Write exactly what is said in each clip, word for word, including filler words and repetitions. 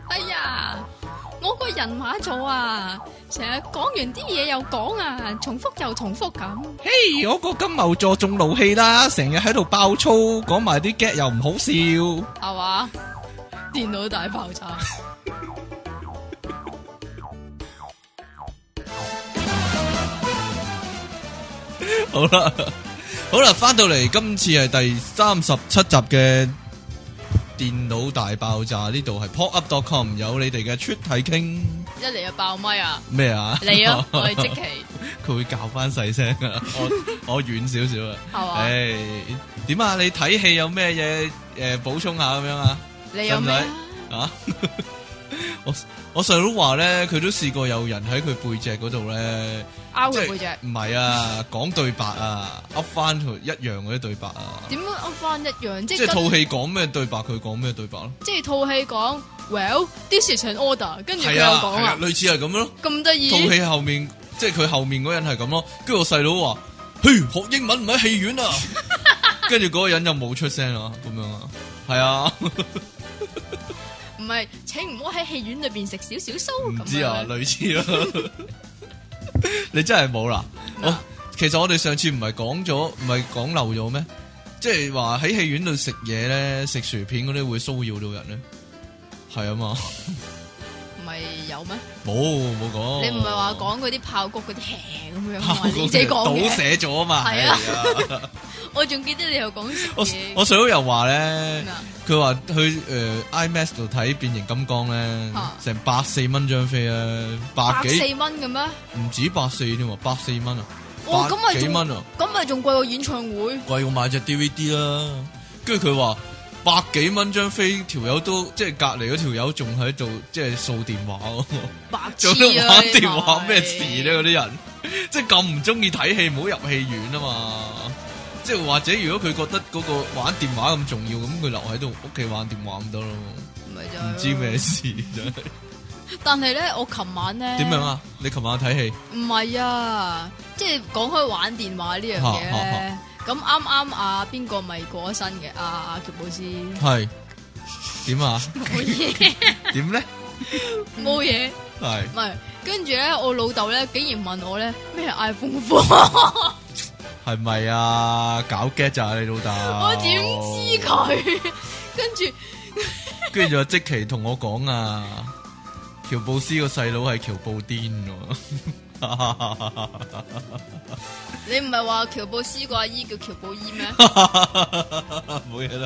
哎呀，我個人馬座啊，成日講完啲嘢又講啊，重複又重複咁。 嘿， hey, 我個金牛座仲怒氣啦，成日喺度爆粗，講埋啲 get 又唔好笑， 係嘛？電腦大爆炸。 好啦，好啦，翻到嚟，今次係第三十七集嘅電腦大爆炸，呢度係 pop up dot com 有你哋嘅出體傾， 一嚟就爆咪啊！ 咩啊？ 你啊，我係積淇， 佢會教翻細聲啊！我我遠少少啊， 係嘛？ 誒，點啊？你睇戲有咩嘢誒補充下咁樣啊？ 你有咩啊？我我細佬話咧，佢都試過有人喺佢背脊嗰度咧， 拗佢背脊， 唔係啊，講對白啊，噏翻佢一樣嗰啲對白啊。 點樣噏翻一樣？即係套戲講咩對白，佢講咩對白咯。 即係套戲講 ，Well this is an order， 跟住佢又係講啊，類似係咁咯。 咁得意。 套戲後面即係佢後面嗰人係咁咯，跟住我細佬話：，嘿，學英文唔喺戲院啊。跟住嗰個人就冇出聲啊，咁樣啊，係啊。 唔係，請唔好喺戲院裏邊食少少酥。 唔知啊，類似咯。你真係冇啦。我其實我哋上次唔係講咗，唔係講漏咗咩？即係話喺戲院度食嘢咧，食薯片嗰啲會騷擾到人咧。係啊嘛。 唔係有咩？ 冇冇講。 你唔係話講嗰啲爆谷嗰啲輕咁樣嘛？ 你自己講嘅。 倒寫咗啊嘛。 係啊。我仲記得你又講食嘢。 我細佬又話咧，佢話去誒 IMAX 度睇變形金剛咧，成百四蚊張飛啊，百幾百四蚊嘅咩？ 唔止百四添喎，百四蚊啊， 哦， 百幾蚊啊， 咁咪仲貴過演唱會，貴過買隻 D V D 啦。跟住佢話百幾蚊張飛，條友都即係隔離嗰條友仲喺度即係掃電話喎， 白痴啊！做咩玩電話咩事咧？嗰啲人即係咁唔中意睇戲，唔好入戲院啊嘛！即係或者如果佢覺得嗰個玩電話咁重要，咁佢留喺度屋企玩電話咁得咯。唔知咩事真係。 但係咧，我琴晚咧點樣啊？你琴晚睇戲？ 唔係啊，即係講開玩電話呢樣嘢咧。咁啱啱啊，邊個咪過咗身嘅？阿阿喬布斯係點啊？ 冇嘢。 點咧？ 冇嘢。 係。 唔係，跟住咧，我老豆咧竟然問我咧咩係 iPhone four。 係咪啊？搞 get 咋你老豆？ 我點知佢？跟住， 跟住就即期同我講啊，喬布斯個細佬係喬布甸喎。 你唔係話喬布斯個阿姨叫喬布伊咩？ 冇嘢啦，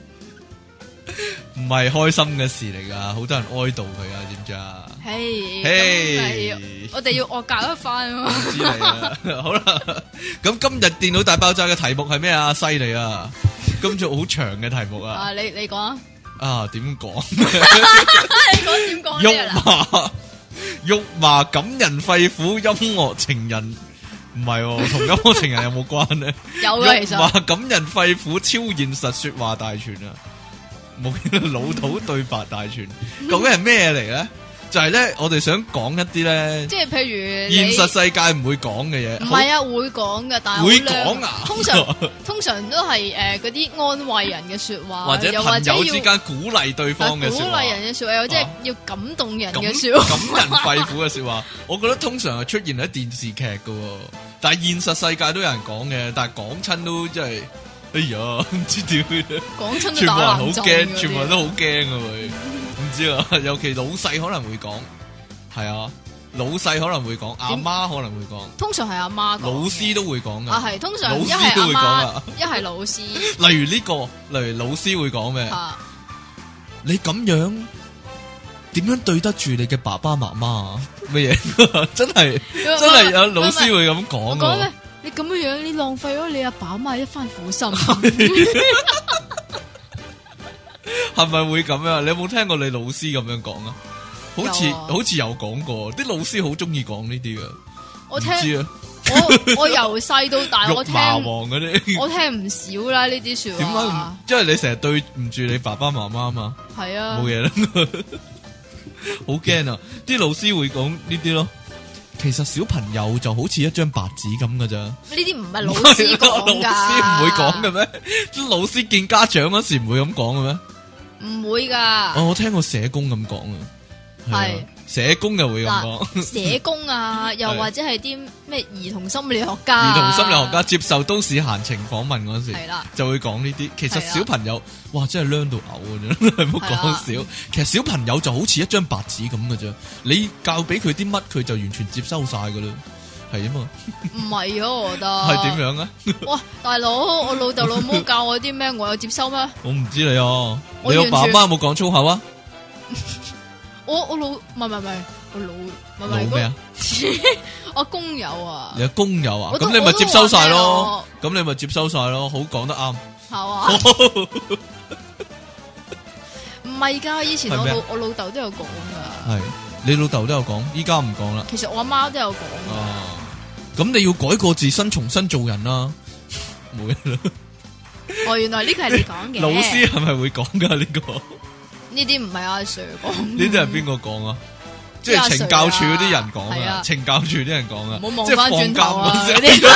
唔係開心嘅事嚟噶，好多人哀悼佢啊，知唔知啊？ 嘿， 嘿， 我哋要惡搞一番啊！ 知你啦，好啦，咁今日電腦大爆炸嘅題目係咩啊？犀利啊！今次好長嘅題目啊！ 啊，你你講啊！ 啊，點講？ 你講點講？ 肉麻肉麻感人肺腑音樂情人，唔係同音樂情人有冇關咧？ 有嘅，其實肉麻感人肺腑超現實說話大全啊！冇老土對白大全，究竟係咩嚟咧？就係咧，我哋想講一啲咧， 即係譬如現實世界唔會講嘅嘢。 唔係啊，會講嘅，但係會講啊。 通常通常都係誒嗰啲安慰人嘅說話， 或者朋友之間鼓勵對方嘅說話， 鼓勵人嘅說話，又即係要感動人嘅說話， 感人肺腑嘅說話。我覺得通常係出現喺電視劇㗎，但係現實世界都有人講嘅，但係講親都真係，哎呀，唔知點嘅， 講親全部人好驚，全部人都好驚啊！佢。唔知啊，尤其老細可能會講，係啊，老細可能會講，阿媽可能會講， 通常係阿媽講， 老師都會講噶， 啊係，通常老師都會講噶， 一係老師， 例如呢個，例如老師會講咩？你咁樣點樣對得住你嘅爸爸媽媽啊？乜嘢？真係真係有老師會咁講噶。 你咁樣樣，你浪費咗你阿爸阿媽一番苦心。 係咪會咁樣？你有冇聽過你老師咁樣講啊？好似好似有講過，啲老師好中意講呢啲噶。 我聽， 知啊， 我我由細到大我聽麻王嗰啲， 我聽唔少啦呢啲說話。點解？ 因為你成日對唔住你爸爸媽媽嘛。 係啊， 冇嘢啦，好驚啊！啲老師會講呢啲咯。其實小朋友就好似一張白紙咁噶咋？呢啲唔係老師講噶， 老師唔會講嘅咩？啲老師見家長嗰時唔會咁講嘅咩？ 唔會噶。 哦，我聽過社工咁講啊，係啊社工又會咁講。 社工啊，又或者係啲咩兒童心理學家， 兒童心理學家接受都市閒情訪問嗰時， 係啦， 就會講呢啲。其實小朋友，哇，真係靚到嘔啊！真係唔好講笑。其實小朋友就好似一張白紙咁嘅啫，你教俾佢啲乜，佢就完全接收晒噶啦。係啊嘛， 唔係啊，我覺得係點樣啊？ 哇，大佬，我老豆老母教我啲咩，我有接收咩？ 我唔知你啊，你阿爸媽有冇講粗口啊？ 我我老唔係唔係唔係，我老唔係老咩啊？ 我工友啊， 你係工友啊？咁你咪接收晒咯，咁你咪接收晒咯，好講得啱。 係嘛？唔係噶，以前我老我老豆都有講噶。係你老豆都有講，依家唔講啦。 其實我阿媽都有講。 哦，咁你要改過自身，重新做人啦。冇啦。 哦，原來呢個係你講嘅。 老師係咪會講噶呢個？ 呢啲唔係阿 Sir 講， 呢啲係邊個講啊？即係懲教處嗰啲人講啊，懲教處啲人講啊，即係放監嗰啲。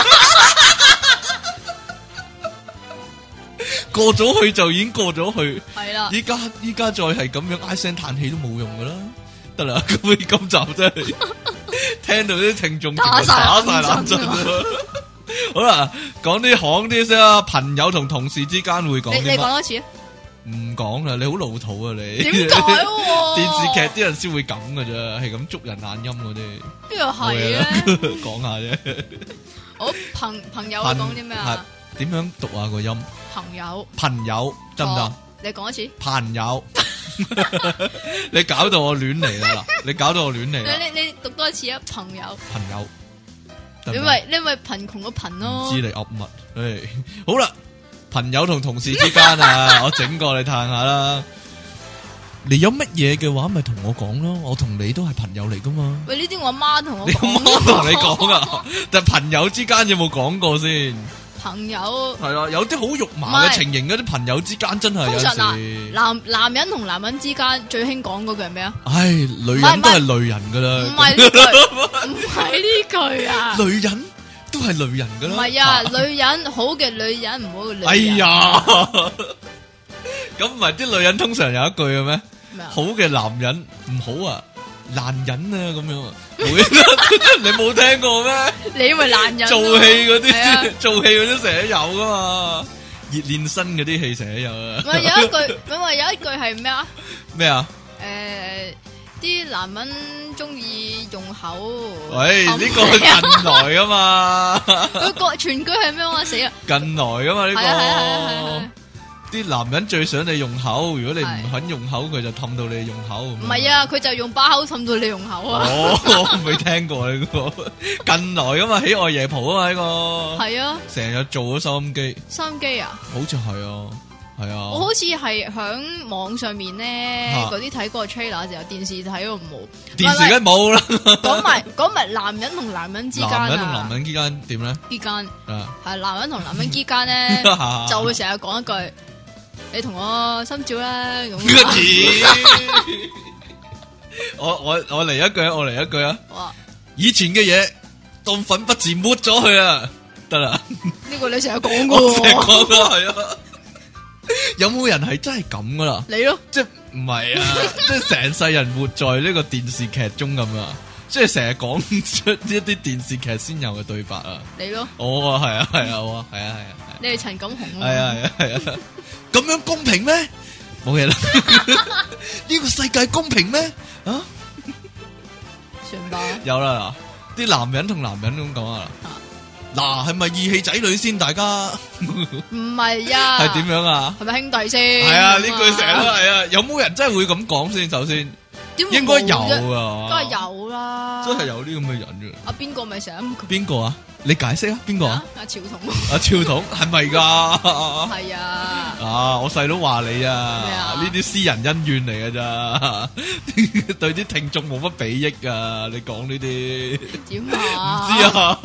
過咗去就已經過咗去，係啦。依家依家再係咁樣唉聲嘆氣都冇用噶啦，得啦。咁你今集真係聽到啲聽眾打晒冷震。好啦，講啲行啲先啦，朋友同同事之間會講啲乜？你你講多次啊！唔講啦，你好老土啊你！點解？電視劇啲人先會咁噶啫，係咁捉人眼音嗰啲。邊度係咧？講下啫。 好，朋朋友講啲咩啊？ 點樣讀啊個音？ 朋友。朋友得唔得？ 你講一次。朋友。你搞到我亂嚟啦！你搞到我亂嚟啦！ 你你你讀多一次啊！朋友。 朋友。 你咪你咪貧窮個貧咯。 唔知你噏乜？誒，好啦。朋友同同事之間啊，我整過你嘆下啦。你有乜嘢嘅話，咪同我講咯。我同你都係朋友嚟噶嘛。喂，呢啲我阿媽同我講。你阿媽同你講啊？但係朋友之間有冇講過先？朋友係啊，有啲好肉麻嘅情形，嗰啲朋友之間真係有時。男男人同男人之間最興講嗰句係咩啊？唉，女人都係女人噶啦。唔係呢句，唔係呢句啊。女人。都係女人噶啦，唔係啊！女人好嘅女人，唔好嘅女人。哎呀，咁唔係啲女人通常有一句嘅咩？好嘅男人唔好啊，爛人啊咁樣啊，你冇聽過咩？你以為爛人？做戲嗰啲，做戲嗰啲成日有噶嘛，熱練身嗰啲戲成日有啊。唔係有一句，咁話有一句係咩啊？咩啊？誒。啲男人中意用口，喂，呢個係近來噶嘛？佢個全句係咩話死啊？近來噶嘛呢個？啲男人最想你用口，如果你唔肯用口，佢就氹到你用口。唔係啊，佢就用把口氹到你用口啊！哦，我未聽過呢個近來噶嘛？喜愛夜蒲啊嘛呢個？係啊，成日做咗收音機。收音機啊？好似係啊。係啊，我好似係響網上面咧，嗰啲睇過 trailer 就有電視睇過冇，電視梗冇啦。講埋講埋男人同男人之間啊，男人同男人之間點咧？之間係男人同男人之間咧，就會成日講一句：你同我心照啦咁。我我我嚟一句，我嚟一句啊！以前嘅嘢當粉筆字抹咗佢啊，得啦。呢個你成日講過，成日講過係啊。有冇人係真係咁噶啦？你咯，即係唔係啊？即係成世人活在呢個電視劇中咁啊！即係成日講出一啲電視劇先有嘅對白啊！你咯，我啊係啊係啊我啊係啊係啊！你係陳錦鴻啊？係啊係啊係啊！咁樣公平咩？冇嘢啦！呢個世界公平咩？啊？算吧。有啦，啲男人同男人咁講啊。嗱，係咪義氣仔女先？大家唔係啊，係點樣啊？係咪兄弟先？係啊，呢句成日都係啊。有冇人真係會咁講先？首先，應該有啊，梗係有啦，真係有啲咁嘅人嘅。阿邊個咪成日邊個啊？你解釋啊？邊個啊？阿朝統，阿朝統係咪噶？係啊。啊，我細佬話你啊，呢啲私人恩怨嚟噶咋，對啲聽眾冇乜裨益啊！你講呢啲點啊？唔知啊。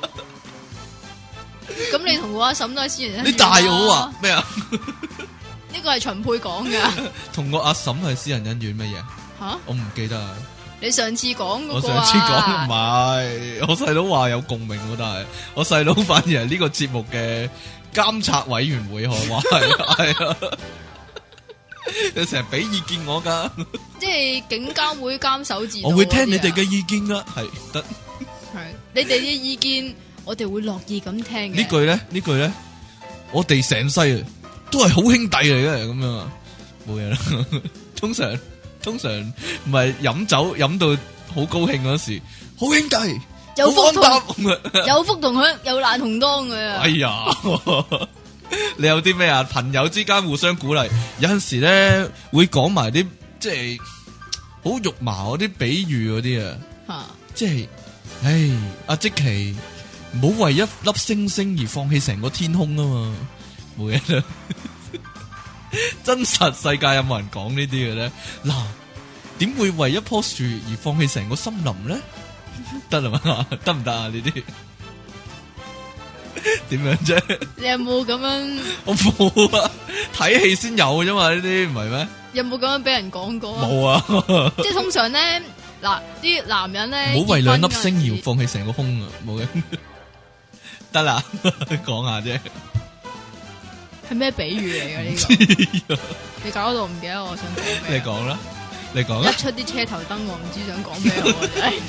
咁你同我阿嬸都係私人恩怨。你大我啊？咩啊？呢個係秦沛講噶。同我阿嬸係私人恩怨乜嘢？吓，我唔記得啊。你上次講嗰個啊？我上次講唔係，我細佬話有共鳴，但係我細佬反而係呢個節目嘅監察委員會，我話係係啊。 你成日俾意見我噶， 即係警監會監守自盜。 我會聽你哋嘅意見噶，係得。 係你哋嘅意見，我哋會樂意咁聽嘅。 呢句咧，呢句咧，我哋成世啊都係好兄弟嚟嘅，咁樣啊，冇嘢啦。通常通常唔係飲酒飲到好高興嗰時，好兄弟， 有福同好有福同享，有難同當嘅。 哎呀，你有啲咩啊？朋友之間互相鼓勵，有陣時咧會講埋啲即係好肉麻嗰啲比喻嗰啲啊， 吓， 即係，唉，阿積淇唔好為一粒星星而放棄成個天空啊嘛，冇嘢啦。真實世界有冇人講呢啲嘅咧？嗱，點會為一棵樹而放棄成個森林咧？得啦嘛，得唔得啊？呢啲點樣啫？ 你有冇咁樣？ 我冇啊，睇戲先有啫嘛，呢啲唔係咩？ 有冇咁樣俾人講過？ 冇啊， 即係通常咧，嗱啲男人咧， 唔好為兩粒星而放棄成個空啊！冇嘅，得啦，講下啫。 係咩比喻嚟嘅呢個？你搞到唔記得我想講咩？ 你講啦，你講啦。 一出啲車頭燈，我唔知想講咩好真係。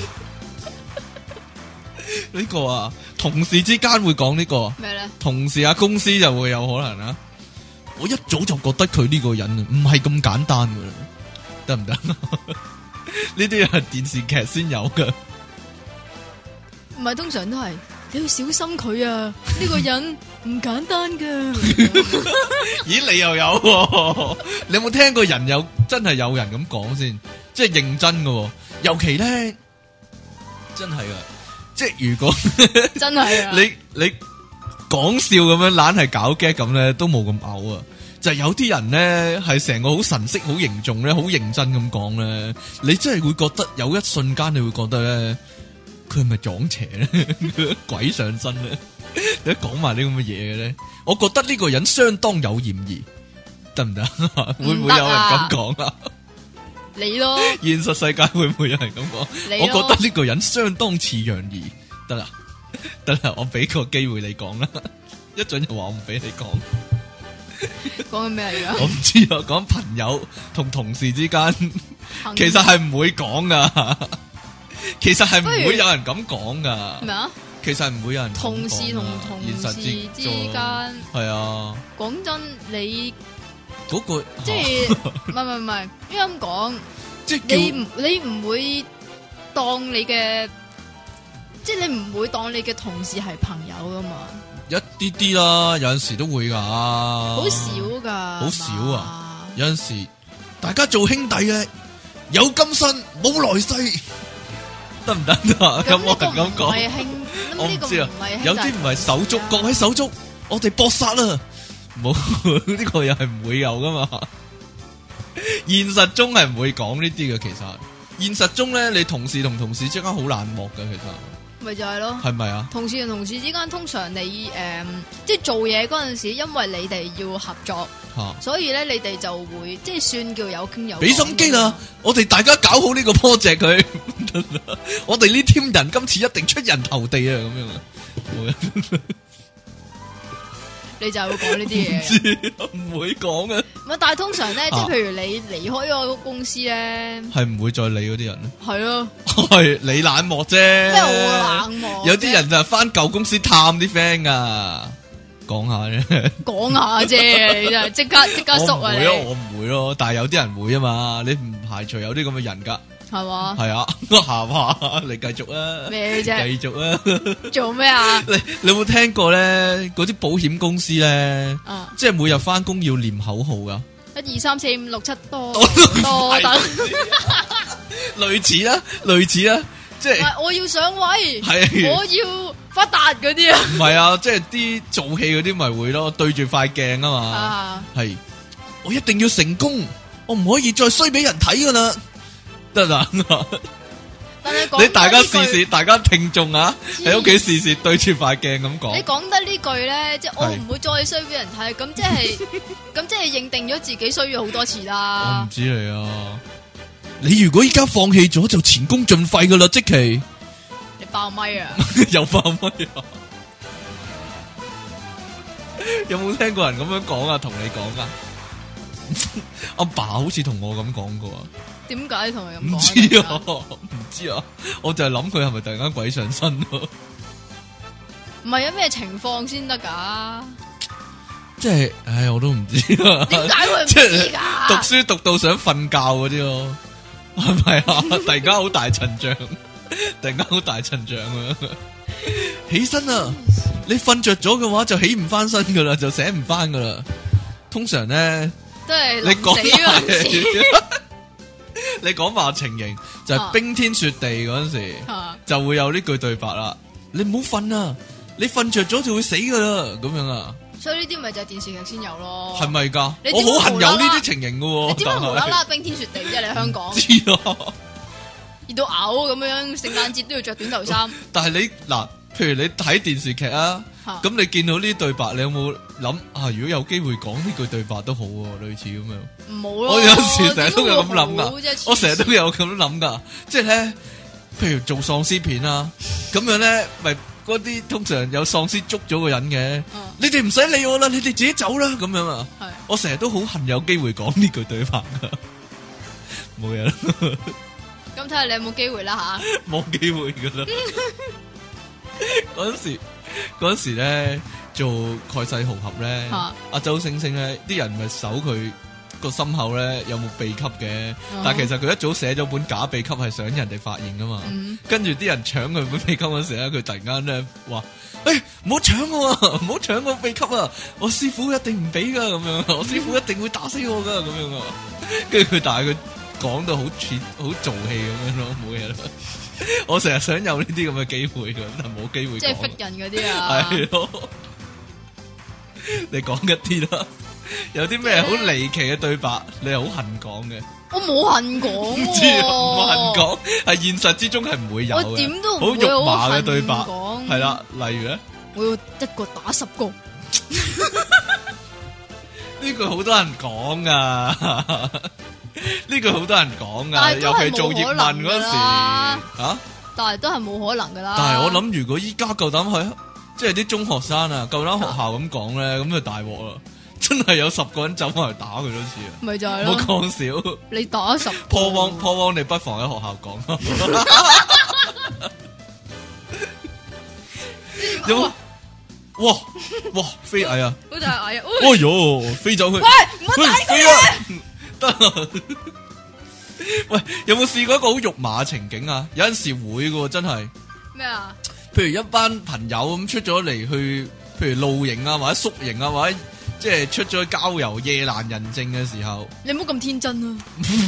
呢個啊，同事之間會講呢個咩咧？ 同事啊，公司就會有可能啊。我一早就覺得佢呢個人啊，唔係咁簡單噶啦，得唔得？呢啲係電視劇先有噶， 唔係通常都係你要小心佢啊！呢個人唔簡單噶。 咦，你又有喎？你有冇聽過人有真係有人咁講先？即係認真噶，尤其咧，真係啊！即係如果真係啊， 你你講笑咁樣，懶係搞 gag 咁咧，都冇咁嘔啊！就係有啲人咧，係成個好神色、好凝重咧、好認真咁講咧，你真係會覺得有一瞬間，你會覺得咧，佢係咪撞邪咧？鬼上身咧？你講埋啲咁嘅嘢嘅咧，我覺得呢個人相當有嫌疑，得唔得？會唔會有人咁講啊？ 你咯， 現實世界會唔會有人咁講？我覺得呢個人相當似楊怡，得啦，得啦，我俾個機會你講啦，一準就話我唔俾你講。 講緊咩嚟噶？ 我唔知啊，講朋友同同事之間，其實係唔會講噶，其實係唔會有人咁講噶。咩啊？其實唔會有人同事同同事之間係啊。 講真，你。 嗰個即係唔係唔係唔係，應該咁講，即係你唔你唔會當你嘅，即係你唔會當你嘅同事係朋友噶嘛？ 一啲啲啦，有陣時都會噶， 好少噶， 好少啊！有陣時大家做兄弟嘅，有今生冇來世，得唔得啊？咁我係咁講，我唔知啊，有啲唔係手足，各位手足，我哋搏殺啦！冇呢個又係唔會有噶嘛？現實中係唔會講呢啲嘅。其實現實中咧，你同事同同事之間好冷漠嘅。其實咪就係咯， 係咪啊？ 同事同同事之間，通常你誒、呃，即係做嘢嗰陣時，因為你哋要合作，啊、所以咧你哋就會即係算叫有傾有講。俾心機啦，我哋大家搞好呢個 project 佢，我哋呢 team 人今次一定出人頭地啊！咁樣啊。你就會講呢啲嘢，唔會講嘅。唔係，但係通常咧，即係譬如你離開嗰個公司咧，係唔會再理嗰啲人咧。係咯，係你冷漠啫。咩我冷漠？有啲人就翻舊公司探啲 friend 噶，講下啫。講下啫，你真係即刻即刻縮啊！你我唔會咯，但係有啲人會啊嘛，你唔排除有啲咁嘅人噶。係嘛？係啊，下話你繼續啊！咩啫？繼續啊！做咩啊？你你有冇聽過咧？嗰啲保險公司咧，啊、即係每日翻工要念口號噶。一二三四五六七多多等，類似啦，類似啦，即係我要上位，係我要發達嗰啲啊。唔係啊，即係啲做戲嗰啲咪會咯，對住塊鏡啊嘛。係、啊，我一定要成功，我唔可以再衰俾人睇噶啦。得啦，但係你大家試試，大家聽眾啊，喺屋企試試對住塊鏡咁講。你講得呢句咧，即係我唔會再衰俾人睇，咁即係咁即係認定咗自己衰咗好多次啦。我唔知你啊，你如果依家放棄咗，就前功盡廢噶啦，積淇。你爆咪啊？又爆咪啊？有冇聽過人咁樣講啊？同你講啊？ 阿爸好似同我咁講過啊。 點解同佢咁講？ 唔知啊，唔知啊，我就係諗佢係咪突然間鬼上身咯？ 唔係有咩情況先得噶？ 即係，唉，我都唔知啊。 點解會唔知噶？ 讀書讀到想瞓覺嗰啲咯，係咪啊？突然間好大陣仗，突然間好大陣仗啊！起身啊！你瞓着咗嘅話就起唔翻身噶啦，就醒唔翻噶啦。通常咧， 都係你講埋， 你講埋情形就係、是、冰天雪地嗰陣時，啊、就會有呢句對白啦。你唔好瞓啊！你瞓着咗就會死噶啦，咁樣啊。所以呢啲咪就係電視劇先有咯，係咪噶？我好恨有呢啲情形噶，你點解無啦啦冰天雪地啫？你香港知啊，熱到嘔咁樣，聖誕節都要着短袖衫。但係你嗱，譬如你睇電視劇啊，咁你見到呢啲對白，你有冇諗啊？如果有機會講呢句對白都好，類似咁樣。唔好咯，我有時成日都有咁諗噶，我成日都有咁諗噶，即係咧，譬如做喪屍片啊，咁樣咧，咪。嗰啲通常有喪屍捉咗個人嘅，嗯、你哋唔使理我啦，你哋自己走啦，咁樣啊。是我成日都好恨有機會講呢句對白噶，冇嘢啦。咁睇下你有冇機會啦吓？冇機會噶啦。嗰陣時，嗰陣時咧做蓋世豪俠咧，阿、啊、周星星咧，啲人咪搜佢個心口咧有冇秘笈嘅，哦、但係其實佢一早寫咗本假秘笈係想人哋發現噶嘛，嗯、跟住啲人搶佢本秘笈嗰時咧，佢突然間咧話：誒，唔好搶我啊，唔好搶我秘笈啊！我師傅一定唔俾噶，咁樣，我師傅一定會打死我噶，咁樣啊！跟住佢但係佢講到好似好做戲咁樣咯，冇嘢啦。我成日想有呢啲咁嘅機會噶，但係冇機會。即係忽人嗰啲啊！係咯，你講一啲啦。有啲咩好離奇嘅對白，你係好恨講嘅？我冇恨講，唔知唔恨講，係現實之中係唔會有嘅。我點都唔會好肉麻嘅對白，係啦，例如咧，我要一個打十個，呢句好多人講噶，呢句好多人講噶，尤其做葉問嗰時，吓，但係都係冇可能噶啦。但係我諗，如果依家夠膽去，即係啲中學生啊，夠膽學校咁講咧，咁就大鑊啦。真係有十個人走翻嚟打佢多次啊！咪就係咯，冇講笑。你打十破汪破汪，你不妨喺學校講。有哇哇飛蟻啊！好大蟻啊！哎喲，飛走去。喂，唔好打佢啊！得啦。喂，有冇試過一個好肉麻嘅情景啊？有陣時會嘅，真係。咩啊？譬如一班朋友咁出咗嚟去，譬如露營啊，或者宿營啊，或者。即係出咗去郊遊夜闌人靜嘅時候，你唔好咁天真啊！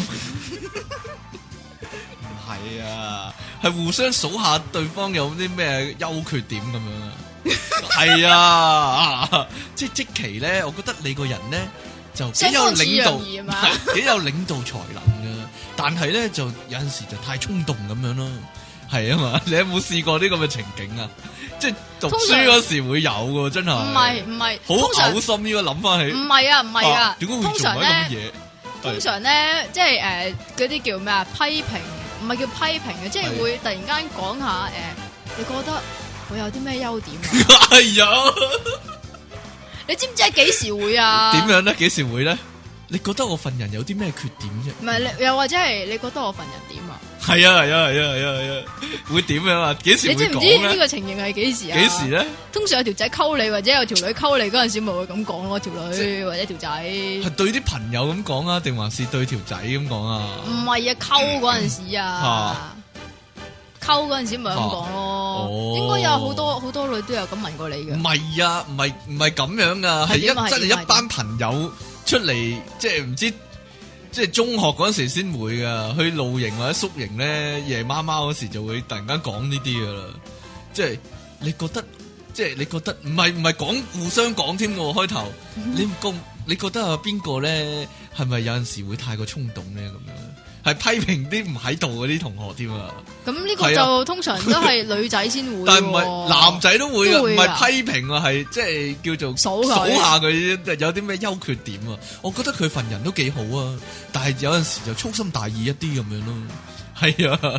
唔係啊，係互相數下對方有啲咩優缺點咁樣啊。係啊，即係積淇咧，我覺得你個人咧就幾有領導，幾有領導才能噶。但係咧就有陣時就太衝動咁樣咯。係啊嘛，你有冇試過呢咁嘅情景啊？即係讀書嗰時會有嘅，真係。唔係唔係，好嘔心呢個諗翻起。唔係啊唔係啊，點解會做啲咁嘅嘢？通常咧，即係誒嗰啲叫咩啊？批評唔係叫批評嘅，即係會突然間講下誒，你覺得我有啲咩優點啊？係啊，你知唔知係幾時會啊？點樣咧？幾時會咧？你覺得我份人有啲咩缺點啫？唔係，又或者係你覺得我份人點啊？係啊係啊係啊係啊係啊，會點樣啊？幾時會講咧？你知唔知呢個情形係幾時啊？幾時咧？通常有條仔溝你或者有條女溝你嗰陣時，咪會咁講咯。條女即或者條仔係對啲朋友咁講啊，定還是對條仔咁講啊？唔係啊，溝嗰陣時啊，溝嗰陣時咪咁講咯。哦、應該有好多好多女都有咁問過你嘅。唔係啊，唔係唔係咁樣噶，係一真係一班朋友出嚟，即係唔知。即係中學嗰時先會噶，去露營或者宿營咧，夜媽媽嗰時就會突然間講呢啲噶啦。即係你覺得，即係你覺得唔係唔係講互相講添喎。開頭、嗯、你覺你覺得啊邊個咧係咪有陣時會太過衝動咧咁樣？係批評啲唔喺度嗰啲同學添啊！咁呢個就、啊、通常都係女仔先會，但係唔係男仔都會啊，唔係批評啊，係即係叫做數下佢有啲咩優缺點啊！我覺得佢份人都幾好啊，但係有陣時就粗心大意一啲咁樣咯。係啊，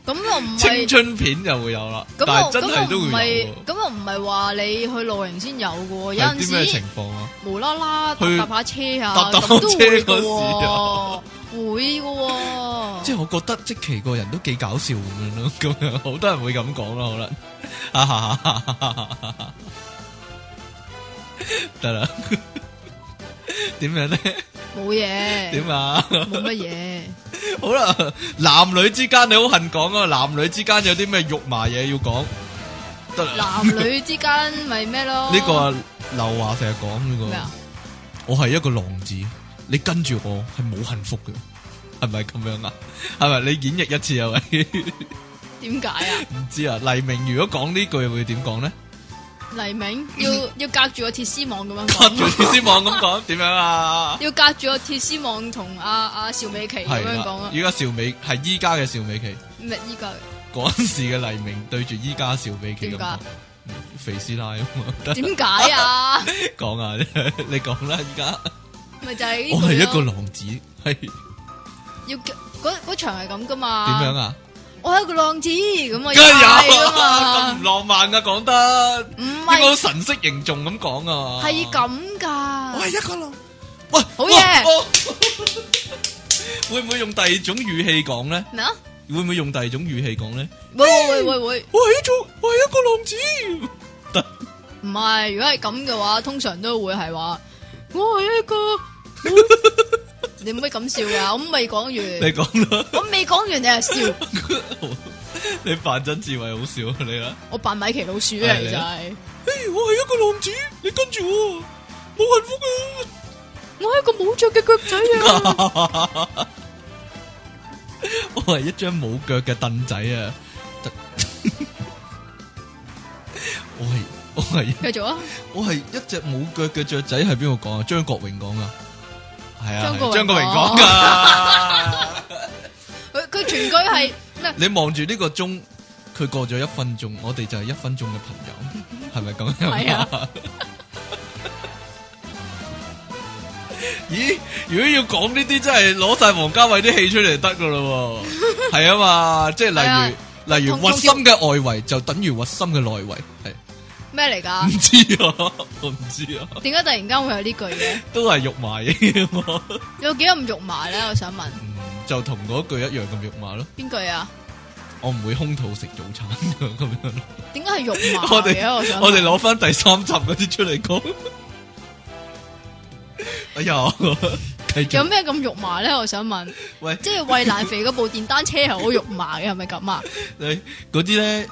咁又唔係青春片就會有啦，但係真係都會有。 咁又唔係話你去露營先有嘅，有陣時啲咩情況啊？ 無啦啦搭搭下車啊， 搭搭車嗰時啊， 會嘅。 即係我覺得積淇個人都幾搞笑咁樣咯，咁樣好多人會咁講咯，可能。得啦，點樣咧？ 冇嘢。 點啊？ 冇乜嘢。 好啦，男女之間你好恨講啊，男女之間有啲咩肉麻嘢要講？得啦。 男女之間咪咩咯？ 呢個啊，劉華成日講呢個。 咩啊？ 我係一個浪子，你跟住我係冇幸福嘅，係咪咁樣啊？係咪你演繹一次啊？喂，點解啊？ 唔知啊。黎明如果講呢句會點講咧？ 黎明要要隔住個鐵絲網咁樣講， 隔住鐵絲網咁講，點樣啊？ 要隔住個鐵絲網同阿阿邵美琪咁樣講啊！ 依家邵美係依家嘅邵美琪， 咩依家？ 嗰陣時嘅黎明對住依家邵美琪咁講，肥師奶啊嘛？ 點解啊？ 講啊，你講啦，依家咪就係我係一個浪子，係要嗰嗰場係咁噶嘛？ 點樣啊？ 我係一個浪子咁啊， 梗係有咁唔浪漫噶，講得唔係應該神色凝重咁講啊， 係咁噶。 我係一個浪，喂， 好嘢， 會唔會用第二種語氣講咧？ 咩啊？ 會唔會用第二種語氣講咧？ 會會會會， 我係一種，我係一個浪子。得， 唔係，如果係咁嘅話，通常都會係話我係一個。你唔可以咁笑噶，我未講完。 你講啦， 我未講完你係笑。 你扮曾志偉好笑啊！你啦， 我扮米奇老鼠啊，就係。 誒，我係一個浪子，你跟住我，冇幸福啊！ 我係一個冇腳嘅腳仔啊！ 我係一張冇腳嘅凳仔啊！我係我係繼續啊！ 我係一隻冇腳嘅雀仔，係邊個講啊？張國榮講啊！係啊，張國榮講噶。 佢佢全句係咩？ 你望住呢個鐘，佢過咗一分鐘，我哋就係一分鐘嘅朋友，係咪咁樣？ 係啊。 咦？如果要講呢啲，真係攞晒王家衛啲戲出嚟得噶咯？係啊嘛，即係例如例如核心嘅外圍就等於核心嘅內圍，係。咩嚟噶？ 唔知啊，我唔知啊。 點解突然間會有呢句嘅？ 都係肉麻嘢嘛。 有幾咁肉麻咧？我想問。 嗯，就同嗰句一樣咁肉麻咯。邊句啊？ 我唔會空肚食早餐咁樣。 點解係肉麻我哋我想我哋攞翻第三集嗰啲出嚟講。哎呀， 有咩咁肉麻咧？我想問。喂，即係衛蘭肥嗰部電單車係好肉麻嘅，係咪咁啊？ 你嗰啲咧。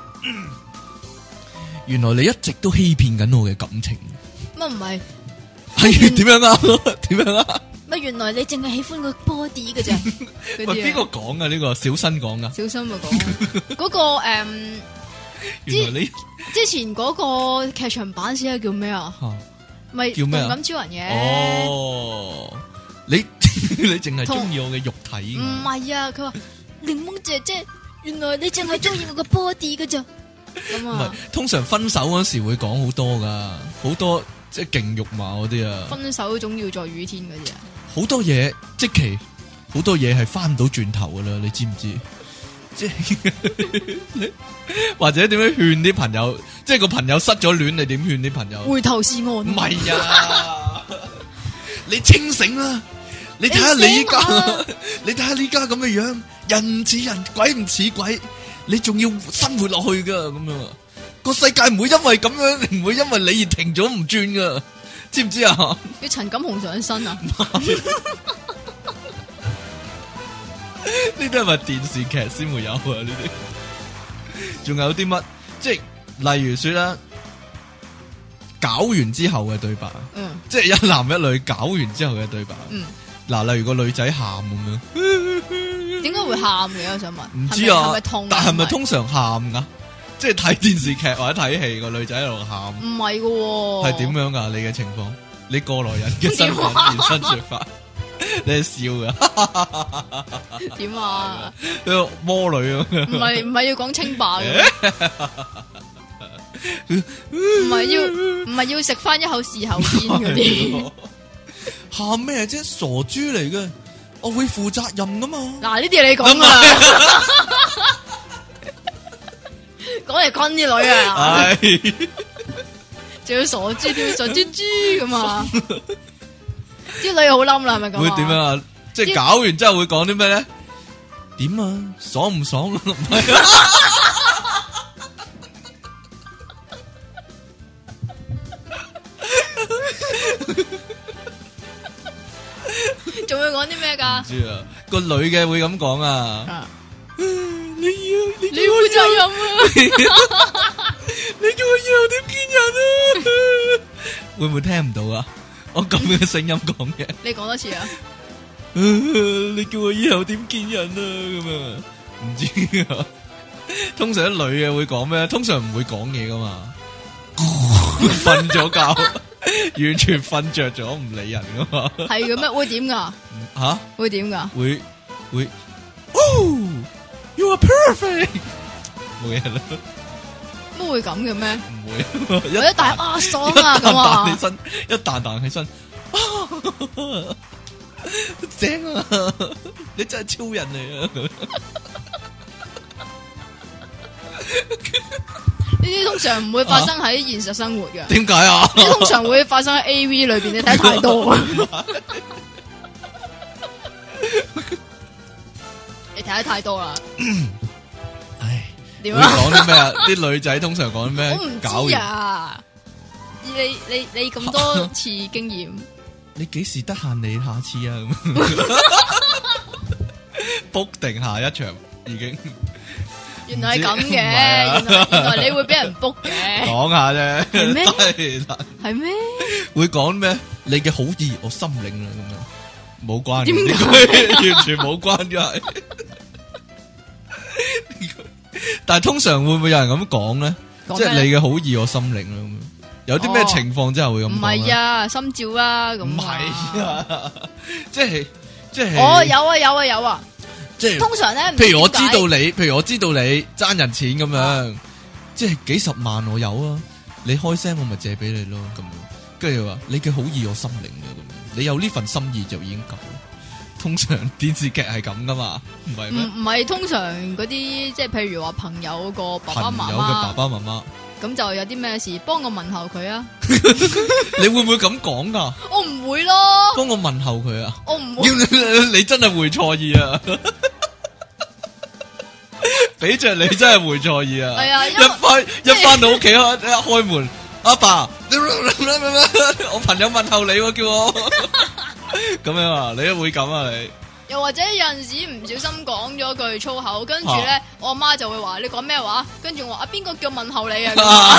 原來你一直都欺騙緊我嘅感情。 乜唔係？ 係點樣啊？點樣啊？ 乜原來你淨係喜歡個 body 嘅啫？ 喂，邊個講啊？呢個小新講啊？ 小新咪講嗰個誒，原來你之前嗰個劇場版先係叫咩啊？咪叫咩？動感超人嘅。 哦，你你淨係中意我嘅肉體？ 唔係啊，佢話檸檬姐姐，原來你淨係中意我個 body 嘅啫。咁啊，唔係通常分手嗰時會講好多噶，好多即係勁肉麻嗰啲啊。 分手總要在雨天嗰啲啊， 好多嘢即其好多嘢係翻唔到轉頭噶啦，你知唔知？即係或者點樣勸啲朋友？即係個朋友失咗戀，你點勸啲朋友？ 回頭是岸。唔係啊，你清醒啦！你睇下你依家，你睇下呢家咁嘅樣，人唔似人，鬼唔似鬼。你仲要生活落去噶，咁樣個世界唔會因為咁樣，唔會因為你而停咗唔轉噶，知唔知啊？ 要陳錦鴻上身啊？ 呢啲係咪電視劇先會有啊？呢啲仲有啲乜？即係例如說啦，搞完之後嘅對白，嗯，即係一男一女搞完之後嘅對白，嗯，嗱，例如個女仔喊咁樣。 點解會喊嘅？我想問。 唔知啊， 係咪痛？ 但係咪通常喊噶？即係睇電視劇或者睇戲，個女仔喺度喊。 唔係嘅。係點樣噶？你嘅情況？你過來人嘅身份現身說法。你係笑噶？ 點啊？ 個魔女啊？ 唔係唔係要講清白嘅？唔係要唔係要食翻一口事後煙嗰啲？ 喊咩啫？傻豬嚟嘅！我會負責任噶嘛？ 嗱，呢啲係你講噶啦， 講嚟昆啲女啊， 係， 仲要傻豬豬傻豬豬咁啊！啲女好冧啦，係咪咁？ 會點樣啊？即係搞完之後會講啲咩咧？點啊？爽唔爽啊？ 仲會講啲咩噶？ 唔知啊，個女嘅會咁講啊。你要你你負責任啊！ 你叫我以後點見人啊？會唔會聽唔到啊？我咁嘅聲音講嘅。 你講多次啊！ 你叫我以後點見人啊？咁啊，唔知啊。通常啲女嘅會講咩？通常唔會講嘢噶嘛。瞓咗覺，完全瞓着咗，唔理人噶嘛。 係嘅咩？會點噶？ 吓？ 會點噶？ 會會。哦，You are perfect。冇嘢啦。 乜會咁嘅咩？ 唔會。 一彈啊爽啊咁啊！ 彈起身，一彈彈起身，正啊！你真係超人嚟啊！ 呢啲通常唔會發生喺現實生活嘅。 點解啊？ 呢啲通常會發生喺 A V 裏邊，你睇太多。你睇得太多啦。 唉， 點啊？ 講啲咩啊？啲女仔通常講啲咩？ 我唔知啊。你你你咁多次經驗， 你幾時得閒？你下次啊？book 定下一場已經。 原來係咁嘅，原來原來你會俾人 book 嘅。 講下啫， 係咩？ 係咩？ 會講咩？你嘅好意我心領啦，咁樣冇關嘅，呢句完全冇關嘅。但係通常會唔會有人咁講咧？即係你嘅好意我心領啦，咁樣有啲咩情況之後會咁講？ 唔係啊，心照啊，咁。唔係啊，即係即係。 哦，有啊，有啊，有啊。 即係通常咧， 譬如我知道你，譬如我知道你爭人錢咁樣，啊、即係幾十萬我有啊，你開聲我咪借俾你咯，咁樣，跟住話你嘅好意我心領嘅，咁樣，你有呢份心意就已經夠。通常電視劇係咁噶嘛，唔係咩？唔唔係通常嗰啲，即係譬如話朋友個爸爸媽媽，朋友嘅爸爸媽媽，咁就有啲咩事，幫我問候佢啊！你會唔會咁講噶？我唔會咯。幫我問候佢啊！我唔會。你真係會錯意啊！俾着你真係會錯意啊！係啊，一翻一翻到屋企一開門，阿爸，我朋友問候你喎，叫我咁樣啊！你都會咁啊？你又或者有陣時唔小心講咗句粗口，跟住咧我阿媽就會話你講咩話？跟住我話啊邊個叫問候你啊？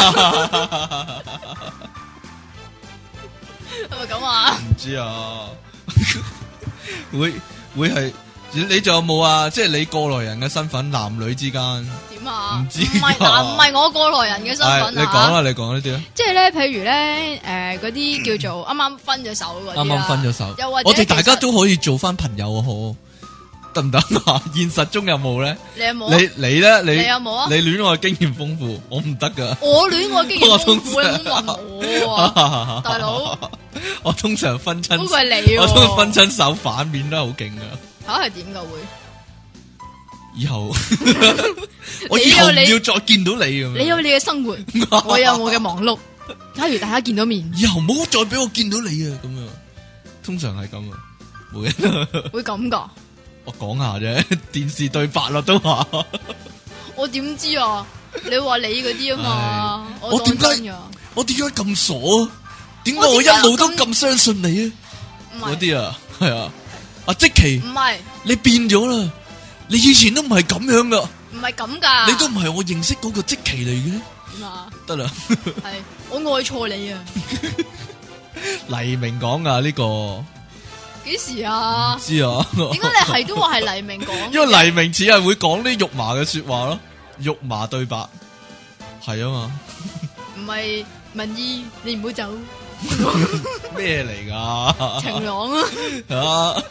係咪咁啊？唔知啊，會會係。你仲有冇啊？即係你過來人嘅身份，男女之間點啊？唔知唔係嗱，唔係我過來人嘅身份啊！你講啦，你講呢啲啊！即係咧，譬如咧，誒，嗰啲叫做啱啱分咗手嗰啲，啱啱分咗手，又或者我哋大家都可以做翻朋友啊！好得唔得啊？現實中有冇咧？你有冇？你你咧？你有冇啊？你戀愛經驗豐富，我唔得噶。我戀愛經驗豐富，你唔問我啊，大佬！我通常分親，係你，我通常分親手反面都係好勁噶。吓係點噶會？以後我以後唔要再見到你咁樣。你有你嘅生活，我有我嘅忙碌。假如大家見到面，以後唔好再俾我見到你啊！咁樣通常係咁啊，冇嘢。會咁噶？我講下啫，電視對白啦都話。我點知啊？你話你嗰啲啊嘛？我點解？我點解咁傻啊？點解我一路都咁相信你啊？嗰啲啊，係啊。阿積淇唔係你變咗啦，你以前都唔係咁樣噶，唔係咁噶，你都唔係我認識嗰個積淇嚟嘅。點啊？得啦，係我愛錯你啊！黎明講噶呢個幾時啊？唔知啊？點解你係都話係黎明講？因為黎明似係會講啲肉麻嘅說話咯，肉麻對白係啊嘛。唔係文意，你唔好走。咩嚟噶？晴朗啊！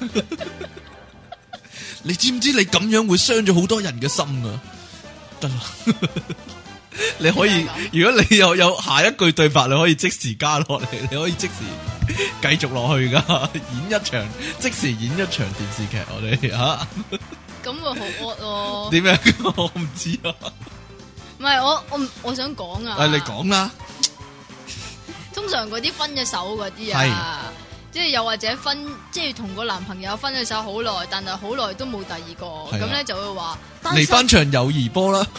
你知唔知你咁樣會傷咗好多人嘅心啊？得啦，你可以，如果你有有下一句對白，你可以即時加落嚟，你可以即時繼續落去噶，演一場，即時演一場電視劇，我哋吓。咁啊好惡哦！點樣？我唔知啊。 唔係我我我想講啊。 誒，你講啦。 通常嗰啲分咗手嗰啲啊，即係又或者分，即係同個男朋友分咗手好耐，但係好耐都冇第二個，咁咧、啊、就會話嚟翻場友誼波啦。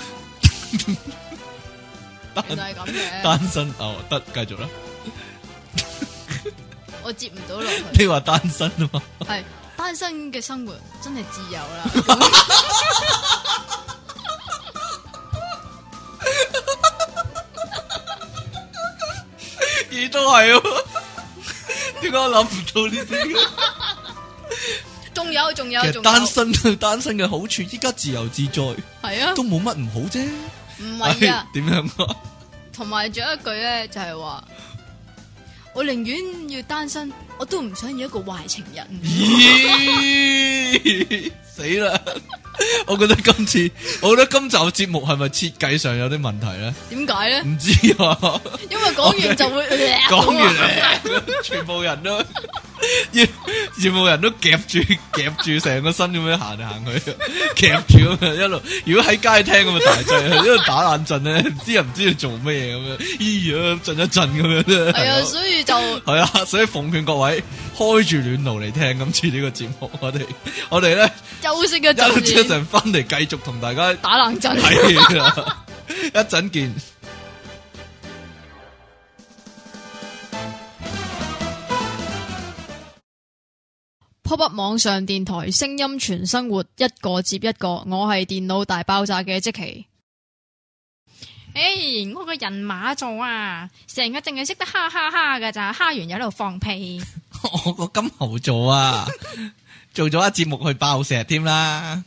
原來係咁嘅。單身哦，得繼續啦。我接唔到落去。你話單身啊嘛？係單身嘅生活真係自由啦。亦都係啊！點解我諗唔到呢啲？仲有仲有，其實單身單身嘅好處，依家自由自在，係啊，都冇乜唔好啫。唔係啊？點樣啊？同埋仲有一句咧，就係話我寧願要單身，我都唔想要一個壞情人。咦！死啦！我覺得今次，我覺得今集嘅節目係咪設計上有啲問題咧？點解咧？唔知啊。因為講完就會講完，全部人都，全部人都夾住夾住成個身咁樣行嚟行去，夾住咁樣一路。如果喺街聽咁啊大劑，一路打冷震咧，唔知又唔知要做咩嘢咁樣，咦呀震一震咁樣咧。係啊，所以就係啊，所以奉勸各位開住暖爐嚟聽今次呢個節目，我哋我哋咧休息一陣。一陣翻嚟繼續同大家打冷震，係啦，一陣見。Pop Up 網上電台，聲音全生活，一個接一個。我係電腦大爆炸嘅積淇。誒、hey, 我個人馬座啊，成日淨係識得哈哈哈噶咋，哈完又喺度放屁。我個金牛座啊，做咗一節目去爆石添啦。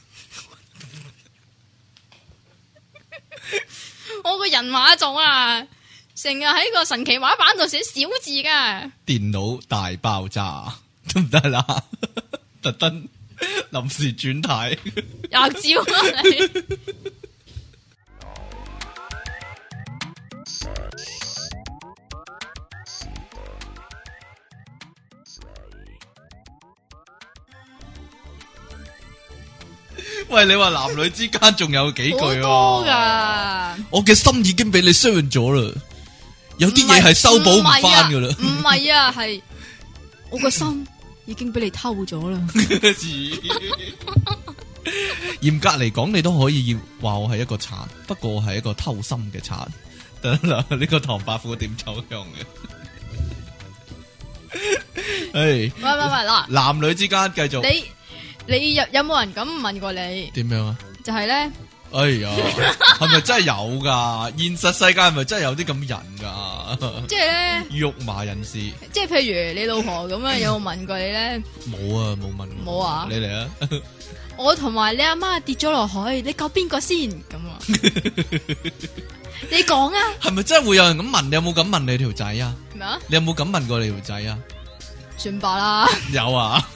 我個人馬座啊，成日喺個神奇畫板度寫小字噶。電腦大爆炸得唔得啦？特登臨時轉態，廿招啊你！喂，你話男女之間仲有幾句啊？好多噶，我嘅心已經俾你傷咗啦，有啲嘢係修補唔翻噶啦。唔係啊，係我個心已經俾你偷咗啦。嚴格嚟講，你都可以話我係一個賊，不過我係一個偷心嘅賊。得啦，呢個唐伯虎點秋香嘅。誒，喂喂喂，嗱，男女之間繼續。你你有有冇人咁問過你？點樣啊？就係咧，哎呀，係咪真係有噶？現實世界係咪真係有啲咁人噶？即係咧，肉麻人士。即係譬如你老婆咁樣，有冇問過你咧？冇啊，冇問。冇啊？你嚟啊！我同埋你阿媽跌咗落海，你救邊個先？咁啊？你講啊？係咪真係會有人咁問？你有冇咁問你條仔啊？咩啊？你有冇咁問過你條仔啊？算罷啦。有啊。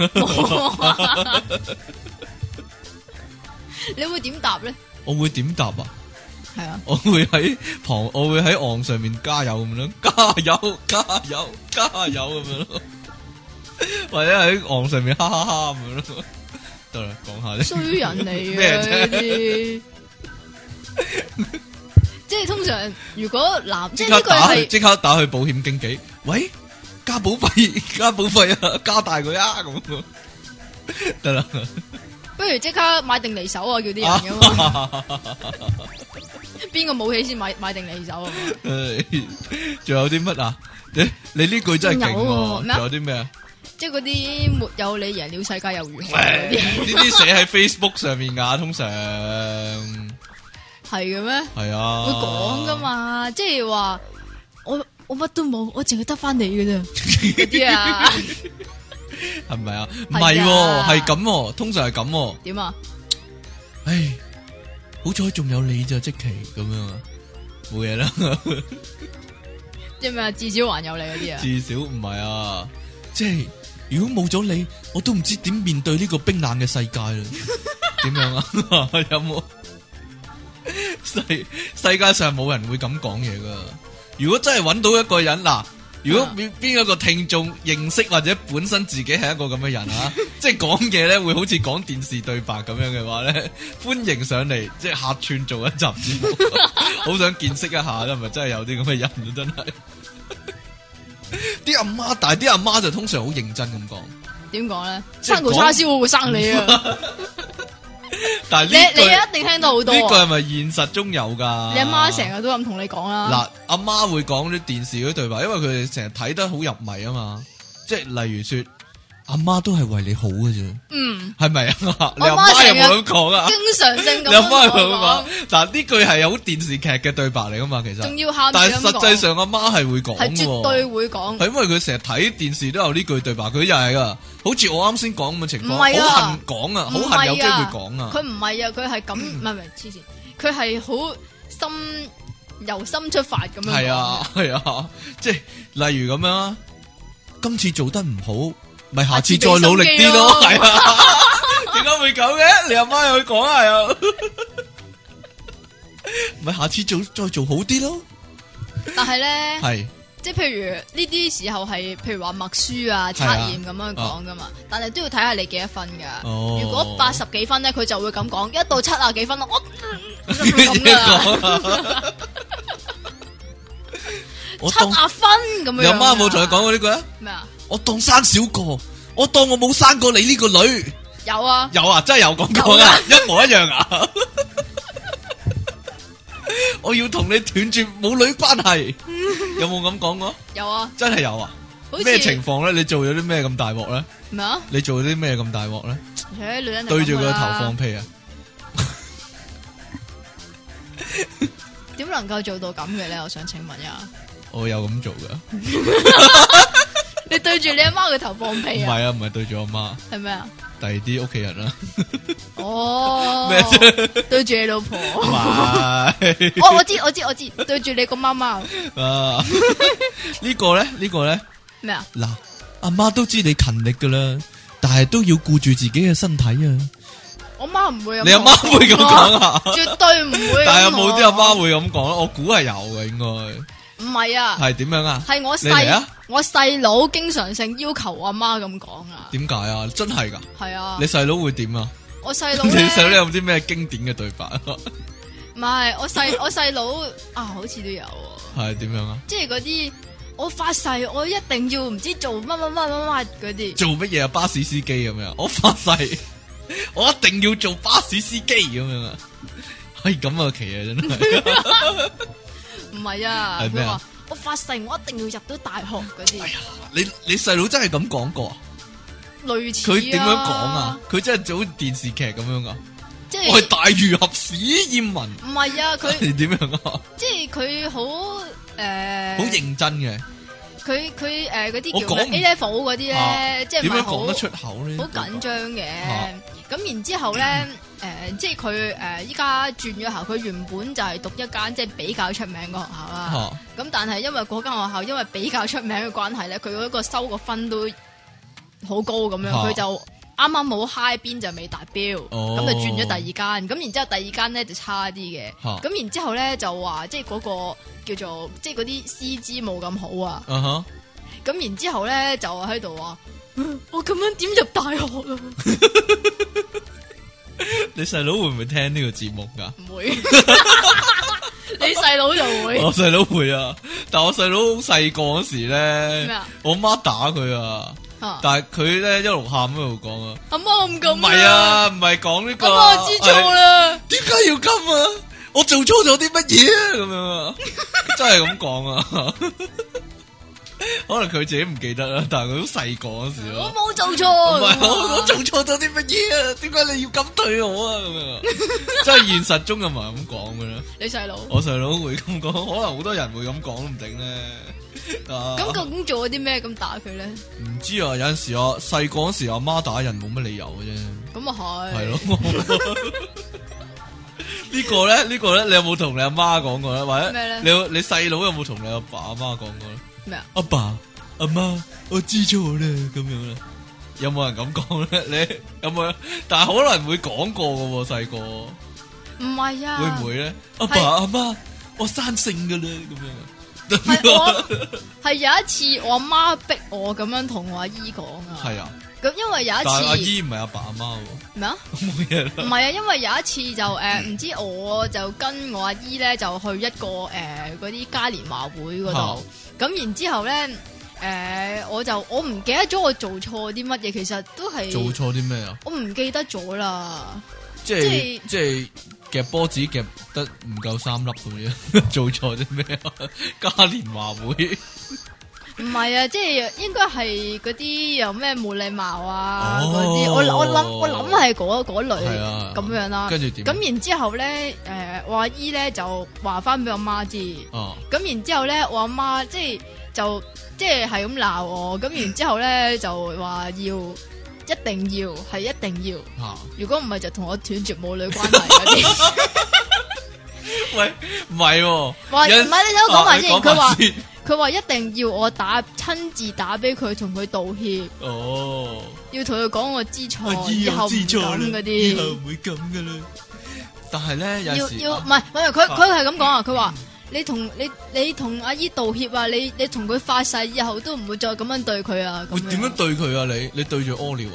你會點答咧？我會點答啊？係啊。我會喺旁，我會喺岸上面加油咁樣，加油，加油，加油咁樣咯。或者喺岸上面哈哈哈咁樣咯。得啦，講下咧。衰人嚟嘅咩啫？即係通常如果男，即係呢個係即刻打去保險經紀，喂。加保費，加保費啊！加大佢啊！咁得啦，不如即刻買定離手啊！叫啲人咁啊！邊個武器先買買定離手啊？仲有啲乜啊？你你呢句真係勁喎！仲有啲咩啊？即係嗰啲沒有你贏了世界又如何？呢啲寫喺 Facebook 上面噶，通常係嘅咩？係啊，會講噶嘛？即係話我。我乜都冇，我淨係得翻你嘅啫，嗰啲啊，係咪啊？唔係，係咁，通常係咁。點啊？唉，好彩仲有你咋，積淇咁樣啊，冇嘢啦。即係咩啊？至少還有你嗰啲啊？至少唔係啊，即係如果冇咗你，我都唔知點面對呢個冰冷嘅世界啦。點樣啊？有冇？世世界上冇人會咁講嘢噶。如果真係揾到一個人嗱， 如果邊邊一個聽眾認識或者本身自己係一個咁嘅人啊，即係講嘢咧會好似講電視對白咁樣嘅話咧，歡迎上嚟即係客串做一集節目，好想見識一下啦，係咪真係有啲咁嘅人啊？真係啲阿媽，但係啲阿媽就通常好認真咁講。點講咧？生個叉燒我會生你啊！但係呢句你你一定聽到好多。呢句係咪現實中有噶？你阿媽成日都咁同你講啦。嗱，阿媽會講啲電視嗰啲對白，因為佢哋成日睇得好入迷啊嘛。即係例如說，阿媽都係為你好嘅啫。嗯，係咪啊？你阿媽有冇咁講啊？經常性咁。你阿媽有冇咁講？但係呢句係有電視劇嘅對白嚟噶嘛？其實仲要喊。但係實際上阿媽係會講，係絕對會講。係因為佢成日睇電視都有呢句對白，佢又係噶。好似我啱先講咁嘅情況，好恨講啊，好恨有機會講啊。佢唔係啊，佢係咁，唔係唔係黐線，佢係好心由心出發咁樣。係啊係啊，即係例如咁樣啊，今次做得唔好，咪下次再努力啲咯。係啊，點解會咁嘅？你阿媽又去講啊？又咪下次做再做好啲咯。但係咧係。即係譬如呢啲時候係，譬如話默書啊、測驗咁樣講噶嘛，啊、但係都要睇下你幾多分噶。哦、如果八十幾分咧，佢就會咁講；一到七啊幾分咯，我就會咁噶啦。七啊分咁樣。有媽冇同你講過呢句啊？咩啊？我當生少個，我當我冇生過你呢個女。有啊，有啊，真係有講過啊，一模一樣啊。我要同你斷絕母女關係，有冇咁講過？有啊，真係有啊。咩情況咧？你做咗啲咩咁大鑊咧？咩啊？你做咗啲咩咁大鑊咧？誒，女人對住佢個頭放屁啊！點能夠做到咁嘅咧？我想請問一下。我有咁做噶。你對住你阿媽個頭放屁啊？唔係啊，唔係對住我媽。係咩啊？第二啲屋企人啦。哦，咩啫？對住你老婆。唔係。我我知我知我知，對住你個媽媽。啊，呢個咧？呢個咧？咩啊？嗱，阿媽都知你勤力噶啦，但係都要顧住自己嘅身體啊。我媽唔會咁。你阿媽會咁講啊？絕對唔會。但係有冇啲阿媽會咁講咧？我估係有嘅，應該。唔係啊，係點樣啊？係我細我細佬經常性要求我阿媽咁講啊。點解啊？真係噶？係啊。你細佬會點啊？我細佬，你細佬有冇啲咩經典嘅對白啊？唔係，我細我細佬啊，好似都有。係點樣啊？即係嗰啲我發誓，我一定要唔知做乜乜乜乜乜嗰啲。做乜嘢啊？巴士司機咁樣？我發誓，我一定要做巴士司機咁樣啊！係咁啊，奇啊，真係。唔係啊，佢話我發誓我一定要入到大學嗰啲。哎呀，你你細佬真係咁講過？類似。佢點樣講啊？佢真係做電視劇咁樣噶？即係我係大儒俠史艷文。唔係啊，佢點樣啊？即係佢好誒，好認真嘅。佢佢誒嗰啲叫 A level 嗰啲咧，即係點樣講得出口咧？好緊張嘅。咁然之後咧，誒、呃，即係佢誒，依家轉咗校，佢原本就係讀一間即係比較出名嘅學校啦。咁、啊、但係因為嗰間學校因為比較出名嘅關係咧，佢嗰個收個分都好高咁樣，佢、啊、就啱啱冇 high 邊就未達標，咁、哦、就轉咗第二間。咁然之後第二間咧就差啲嘅。咁、啊、然之後咧就話即係嗰個叫做即係嗰啲師資冇咁好啊。咁、啊、然之後咧就喺度話。我咁樣點入大學啊？你細佬會唔會聽呢個節目噶？唔會，你細佬就會。我細佬會啊，但係我細佬好細個嗰時咧，咩啊？我媽打佢啊，但係佢咧一路喊一路講啊。阿媽唔咁。唔係啊，唔係講呢個。阿媽知錯啦。點解要咁啊？我做錯咗啲乜嘢啊？咁樣啊，真係咁講啊。可能佢自己唔記得啦，但係佢好細個嗰時咯。我冇做錯，唔係我我做錯咗啲乜嘢啊？點解你要咁對我啊？咁樣，即係現實中又唔係咁講嘅啦。你細佬，我細佬會咁講，可能好多人會咁講都唔定咧。咁究竟做咗啲咩咁打佢咧？唔知啊，有陣時我細個嗰時阿媽打人冇乜理由嘅啫。咁啊係，係咯。呢個咧，呢個咧，你有冇同你阿媽講過咧？或者咩咧？你你細佬有冇同你阿爸阿媽講過咧？咩啊？阿爸阿媽，我知錯啦，咁樣啦。有冇人咁講咧？你有冇？但係可能會講過嘅喎，細個。唔係啊。會唔會咧？阿爸阿媽，我生性噶啦，咁樣。 係我係有一次我阿媽逼我咁樣同我阿姨講啊。 係啊。 咁因為有一次， 但係阿姨唔係阿爸阿媽喎。 咩啊？ 冇嘢啦。 唔係啊，因為有一次就誒，唔、呃、知我就跟我阿姨咧就去一個誒嗰啲嘉年華會嗰度，咁、啊、然之後咧誒、呃，我就我唔記得咗我做錯啲乜嘢，其實都係做錯啲咩啊？ 我唔記得咗啦。 即係即係夾波子夾得唔夠三粒咁樣，做錯啲咩啊？嘉年華會。 唔係啊，即係應該係嗰啲有咩冇禮貌啊嗰啲、哦，我我諗我諗係嗰嗰類咁、啊、樣啦。跟住點？咁然之後咧，誒、呃，我阿姨咧就話翻俾我媽知。哦。咁然之後咧，我阿媽即係就即係係咁鬧我。咁然之後咧就話要一定要係一定要。啊、如果唔係就同我斷絕母女關係嗰啲。 喂，唔係喎。 話唔係你聽我講埋先，佢話。佢話一定要我打親自打俾佢，同佢道歉。哦，要同佢講我知錯，以後唔咁嗰啲，以後唔會咁噶啦。 但係咧，有時要要唔係，唔係佢佢係咁講啊。佢話你同你你同阿姨道歉啊，你你同佢發誓，以後都唔會再咁樣對佢啊。 會點樣對佢啊？你你對住屙尿啊？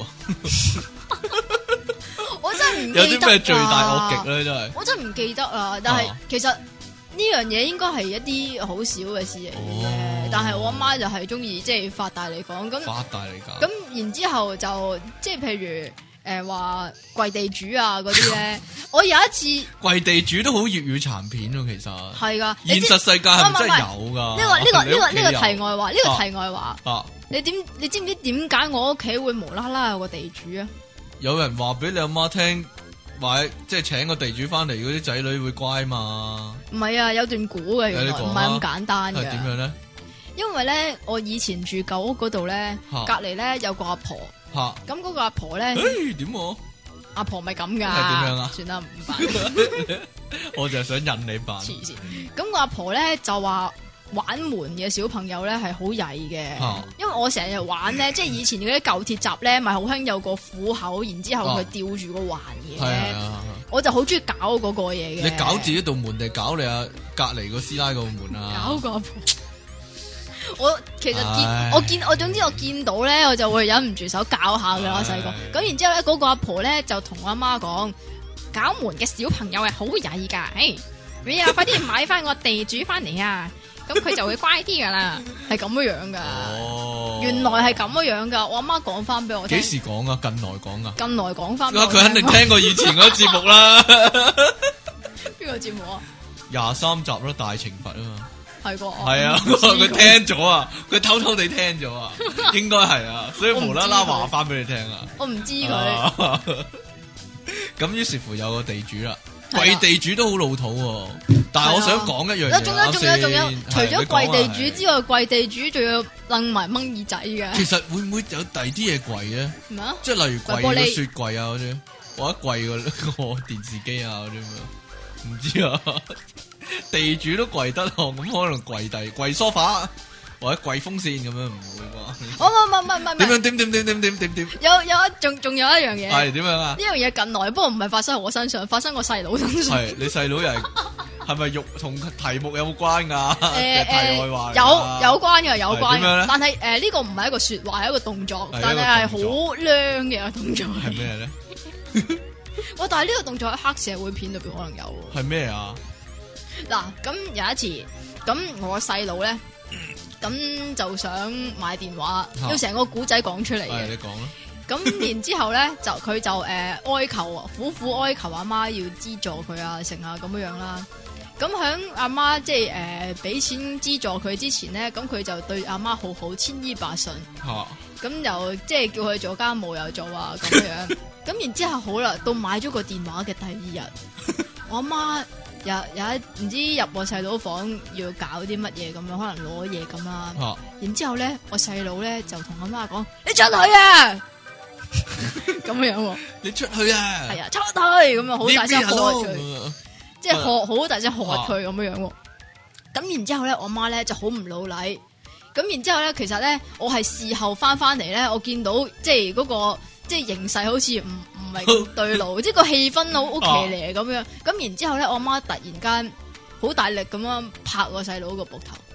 我真係唔記得。 有啲咩罪大惡極咧？真係， 我真係唔記得啦。但係、啊、其實。呢樣嘢應該係一啲好少嘅事嚟嘅，哦、但係我阿媽就係中意即係發大嚟講咁。發大嚟講。咁然之後就即係譬如誒話跪地主啊嗰啲咧，我有一次跪地主都好粵語殘片咯，其實係噶。 現實世界係咪真係有噶？ 呢、這個呢、這個呢、這個呢、這個題外話，呢、這個題外話。啊啊、你點你知唔知點解我屋企會無啦啦有個地主啊？ 有人話俾你阿媽聽。話即係請個地主翻嚟，嗰啲仔女會乖嘛？唔係啊，有段古嘅，原來唔係咁簡單嘅。係點樣咧？因為咧，我以前住舊屋嗰度咧，隔籬咧有個阿婆。吓咁嗰個阿婆咧？誒，點我？阿婆咪咁噶？係點樣啊？算啦，唔辦。 我就係想引你辦。 黐線！咁個阿婆咧就話。玩門嘅小朋友咧係好曳嘅，啊、因為我成日玩咧，即係以前嗰啲舊鐵閘咧，咪好興有個虎口，然之後佢吊住個環嘅，啊、我就好中意搞嗰個嘢嘅。 你搞自己道門定搞你阿隔籬個師奶個門啊？ 搞個阿婆，我其實見唉我見我總之我見到咧，我就會忍唔住手搞下噶啦，細個。咁然之後咧，嗰個阿婆咧就同我阿媽講，搞門嘅小朋友係好曳噶，誒，你啊快啲買翻個地主翻嚟啊！咁佢就會乖啲噶啦，係咁樣樣噶。哦，原來係咁樣樣噶。我阿媽講翻俾我聽。幾時講啊？近來講啊？近來講翻。佢肯定聽過以前嗰個節目啦。 邊個節目啊？ 廿三集咯，大懲罰啊嘛。 係個。 係啊，佢聽咗啊，佢偷偷地聽咗啊，應該係啊，所以無啦啦話翻俾你聽啊。 我唔知佢。 咁於是乎有個地主啦。跪地主都好老土喎，但係我想講一樣嘢。 仲有仲有仲有，除咗跪地主之外，跪地主仲要掕埋掹耳仔嘅。 其實會唔會有第二啲嘢跪嘅？咩啊？即係例如跪個雪櫃啊嗰啲，或者跪個個電視機啊嗰啲咁樣，唔知啊。地主都跪得咯，咁可能跪地跪梳化或者跪風扇咁樣，唔會啩？ 哦，唔唔唔唔唔， 點樣點點點點點點點？ 有有一仲仲有一樣嘢係點樣啊？ 呢樣嘢近來，不過唔係發生喺我身上，發生我細佬身上。 係你細佬又係係咪肉同題目有冇關噶？誒誒，有有關嘅，有關嘅。但係誒呢個唔係一個說話，係一個動作，但係係好靚嘅一個動作。係咩咧？我但係呢個動作喺黑社會片裏邊可能有。係咩啊？嗱，咁有一次，咁我細佬咧。咁就想買電話，啊、要成個古仔講出嚟嘅。你講啦。咁然之後咧，就佢就誒、呃、哀求，苦苦哀求阿媽要資助佢啊，成啊咁樣樣啦。咁響阿媽即係誒俾錢資助佢之前咧，咁佢就對阿媽好好，千依百順。吓、啊。咁又即係叫佢做家務又做啊咁樣。咁然之後好啦，到買咗個電話嘅第二日，我阿媽。有有一唔知入我細佬房要搞啲乜嘢咁樣，可能攞嘢咁啦。啊、然之後咧，我細佬咧就同阿媽講：你出去啊！咁樣喎。你出去啊！係啊，出去咁樣，好大聲喝佢，即係喝好大聲喝佢咁樣樣喎。咁、啊、然之後咧，我媽咧就好唔老禮。咁然之後咧，其實咧，我係事後翻翻嚟咧，我見到即係嗰個即係形勢好似唔。唔係咁對路，即係個氣氛好好騎呢咁樣，咁然之後咧，我媽突然間好大力咁樣拍我細佬個膊頭，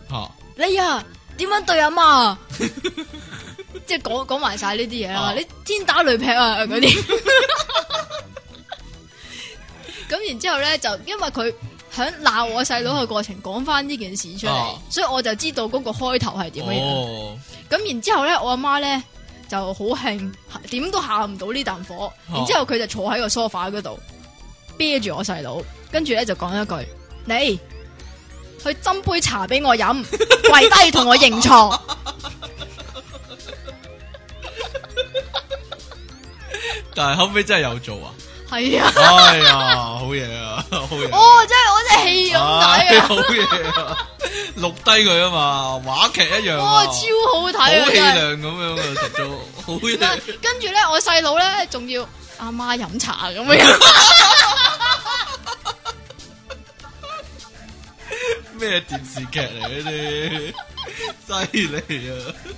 啊你啊，點樣對阿媽？即係講講埋晒呢啲嘢啦，你天打雷劈啊嗰啲。咁然之後咧，就因為佢響鬧我細佬嘅過程講翻呢件事出嚟，啊、所以我就知道嗰個開頭係點樣。咁、哦、然之後咧，我阿媽咧就好興，點都下唔到呢啖火。啊、然之後佢就坐喺個梳化嗰度，啤住我細佬，跟住咧就講一句：你去斟杯茶俾我飲，跪低同我認錯。 但係後尾真係有做啊！ 係啊！ 哎呀，好嘢啊，好嘢！ 哦，真係我真係戲咁睇啊！ 好嘢啊！錄低佢啊嘛，話劇一樣。 哇，超好睇啊！ 好氣量咁樣啊，實做好嘢。 跟住咧，我細佬咧仲要阿媽飲茶咁樣。 咩電視劇嚟呢啲？犀利啊！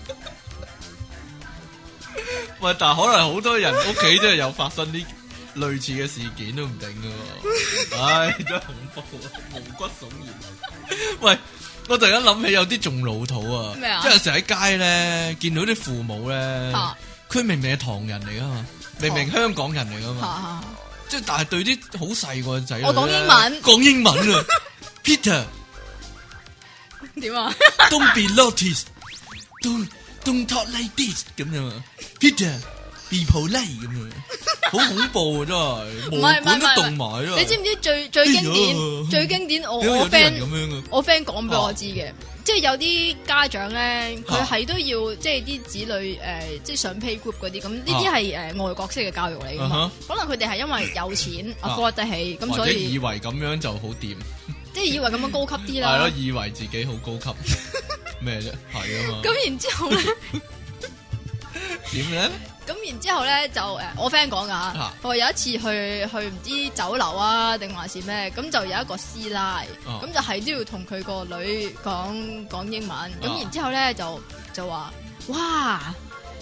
喂，但係可能好多人屋企真係有發生啲類似嘅事件都唔定噶，唉、哎，真係恐怖啊，毛骨悚然。喂，我突然間諗起有啲仲老土啊，咩啊？即係成日喺街咧見到啲父母咧，佢、啊、明明係唐人嚟噶嘛，明明香港人嚟噶嘛，即係、啊、但係對啲好細個仔女， 我講英文， 講英文啊，Peter， 點啊 ？Don't be naughty，don't don't talk like this 咁樣啊 ，Peter。Be polite 咁樣，好恐怖啊！真係，毛管都凍埋咯。 你知唔知最最經典、哎、最經典？我我 friend 我 friend 講俾我知嘅，啊、即係有啲家長咧，佢係都要即係啲子女誒、呃，即係上 playgroup 嗰啲咁，呢啲係誒外國式嘅教育嚟噶嘛。啊、可能佢哋係因為有錢 afford 得起，咁、啊、所以以為咁樣就好掂， 即係以為咁樣高級啲啦。 係咯，以為自己好高級咩啫？係啊嘛。 咁然之後咧， 點咧？ 咁然之後咧就誒，我 friend 講噶吓，我有一次去去唔知酒樓啊定還是咩，咁就有一個師奶，咁、啊、就係都要同佢個女講講英文，咁、啊、然之後咧就就話，哇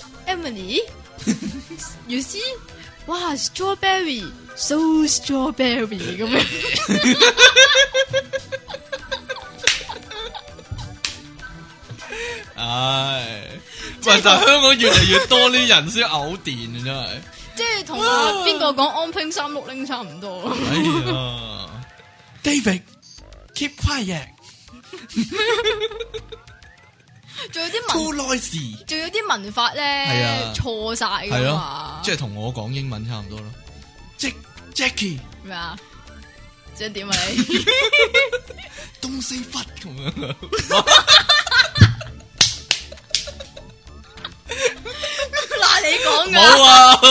Emily，you see， 哇 strawberry so strawberry 咁樣。 唉，喂！但係香港越嚟越多啲人先嘔電啊，真係。 即係同阿邊個講安拼三六零差唔多。 哎呀 ，David keep quiet。 仲有啲文，仲有啲文法咧錯晒噶嘛？ 即係同我講英文差唔多咯。Jack Jackie 咩啊？即係點啊你 ？Don't say fuck 咁樣。 嗱，你講噶冇啊，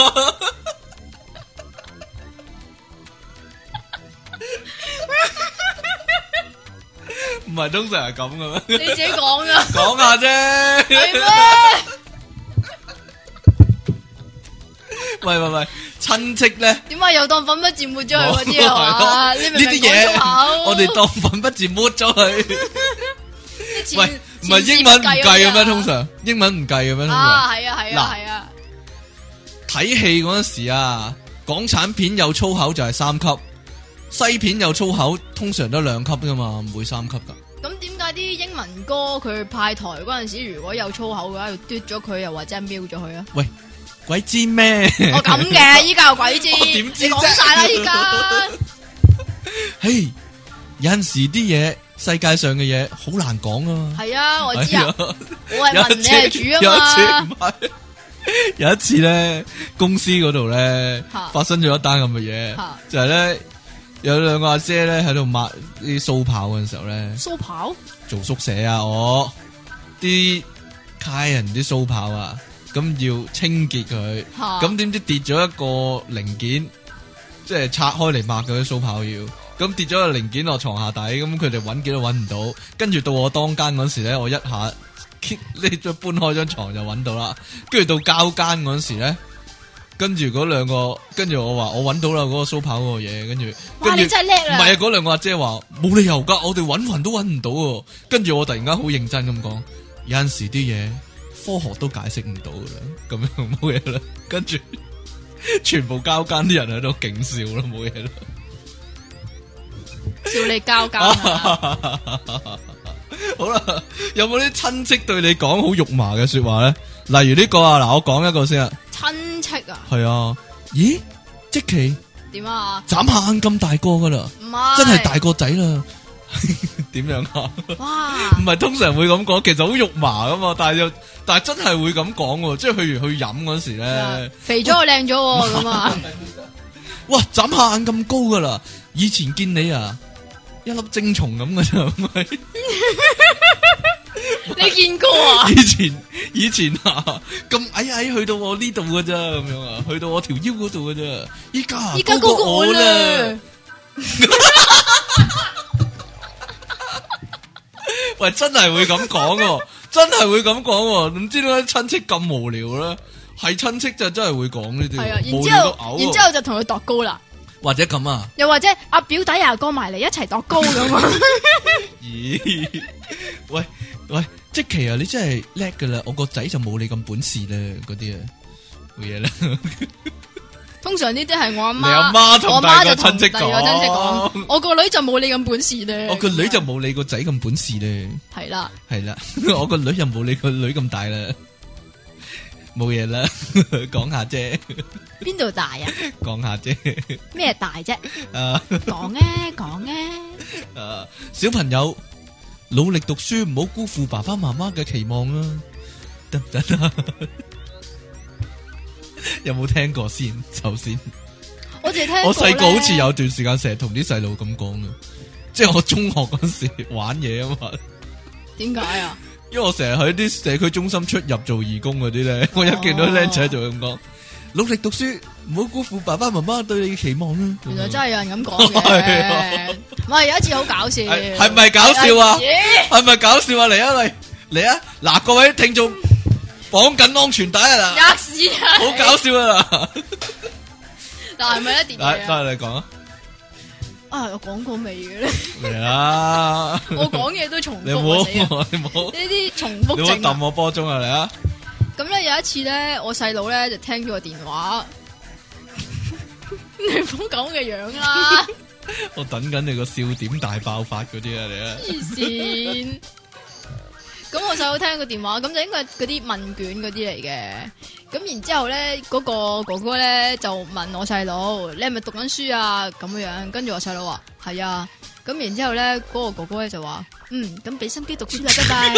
唔係通常係咁嘅咩？ 你自己講噶， 講下啫。 係咩？ 喂喂喂，親戚咧？ 點解又當粉筆字抹咗佢嗰啲啊？呢啲嘢我哋當粉筆字抹咗佢。喂，唔係英文唔計嘅咩？通常英文唔計嘅咩？ 啊，係啊，係啊，係啊。 睇戲嗰陣時啊，港產片有粗口就係三級，西片有粗口通常都兩級噶嘛，唔會三級噶。 咁點解啲英文歌佢派台嗰陣時，如果有粗口嘅話，要嘟咗佢，又或者瞄咗佢啊？ 喂，鬼知咩？ 我咁嘅，依家有鬼知？ 點知？ 你講晒啦，依家。 嘿，有陣時啲嘢。世界上嘅嘢好難講啊！ 係啊，我知啊，我係問你係主啊嘛。 有一次唔係，有一次咧，公司嗰度咧發生咗一單咁嘅嘢，就係咧有兩個阿姐咧喺度抹啲鬚刨嘅時候咧， 鬚刨做宿舍啊，我啲客人啲鬚刨啊，咁要清潔佢，咁點知跌咗一個零件，即係拆開嚟抹嗰啲鬚刨要。咁跌咗個零件落床下底，咁佢哋揾幾都揾唔到，跟住到我當間嗰時咧，我一下呢就搬開張床就揾到啦。跟住到交間嗰時咧，跟住嗰兩個，跟住我話我揾到啦，嗰個蘇跑嗰個嘢，跟住， 哇你真係叻啦！ 唔係啊，嗰兩個阿姐話冇理由噶，我哋揾勻都揾唔到。跟住我突然間好認真咁講，有陣時啲嘢科學都解釋唔到噶啦，咁樣冇嘢啦。跟住全部交間啲人喺度勁笑啦，冇嘢啦。笑你交交， 好啦，有冇啲親戚對你講好肉麻嘅說話咧？例如呢個啊，嗱，我講一個先啊。 親戚啊？ 係啊。咦？積淇點啊？ 眨下眼咁大個噶啦， 唔係真係大個仔啦。點樣啊？ 哇！ 唔係通常會咁講，其實好肉麻噶嘛，但係又但係真係會咁講喎，即係去完去飲嗰時咧， 肥咗我靚咗咁啊！ 哇！眨下眼咁高噶啦，以前見你啊，一粒精蟲咁噶咋，唔係？ 你見過啊？ 以前以前啊，咁矮矮去到我呢度噶咋，咁樣啊，去到我條腰嗰度噶咋，依家依家高過我啦。 喂，真係會咁講，真係會咁講，唔知點解親戚咁無聊咧？係親戚就真係會講呢啲， 係啊，然之後，然之後就同佢度高啦， 或者咁啊， 又或者阿表弟啊過埋嚟一齊度高咁啊？ 咦？喂喂，積淇啊，你真係叻噶啦！我個仔就冇你咁本事啦，嗰啲啊，冇嘢啦。 通常呢啲係我阿媽， 你阿媽同大個親戚講，我個女就冇你咁本事咧。 我個女就冇你個仔咁本事咧。 係啦， 係啦，我個女又冇你個女咁大啦。冇嘢啦，講下啫。 邊度大啊？ 講下啫。 咩大啫？ 啊， 講啊，講啊。 啊，小朋友努力讀書，唔好辜負爸爸媽媽嘅期望啊！得唔得啊？有冇聽過先？首先， 我淨係聽過。 我細個好似有段時間成日同啲細路咁講嘅，即係我中學嗰時玩嘢啊嘛。點解啊？因為我成日喺啲社區中心出入做義工嗰啲咧，我一見到僆仔就咁講，努力讀書，唔好辜負爸爸媽媽對你嘅期望啊！原來真係有人咁講嘅。唔係有一次好搞笑，係咪搞笑啊？係咪搞笑啊？嚟啊嚟嚟啊！嗱，各位聽眾。綁緊安全帶啊！吔屎啊！好搞笑啊！但係咪咧？電話啊！得你講啊！啊，我講過未嘅咧？嚟啦！我講嘢都重複。你唔好，你唔好呢啲重複症。你唔好揼我波鐘啊！嚟啊！咁咧有一次咧，我細佬咧就聽咗個電話，你唔好咁嘅樣啦！我等緊你個笑點大爆發嗰啲啊！嚟啊！黐線！咁我細佬聽個電話，咁就應該係嗰啲問卷嗰啲嚟嘅。咁然之後咧，嗰個哥哥咧就問我細佬：你係咪讀緊書啊？咁樣，跟住我細佬話：係啊。咁然之後咧，嗰個哥哥咧就話：嗯，咁俾心機讀書啦，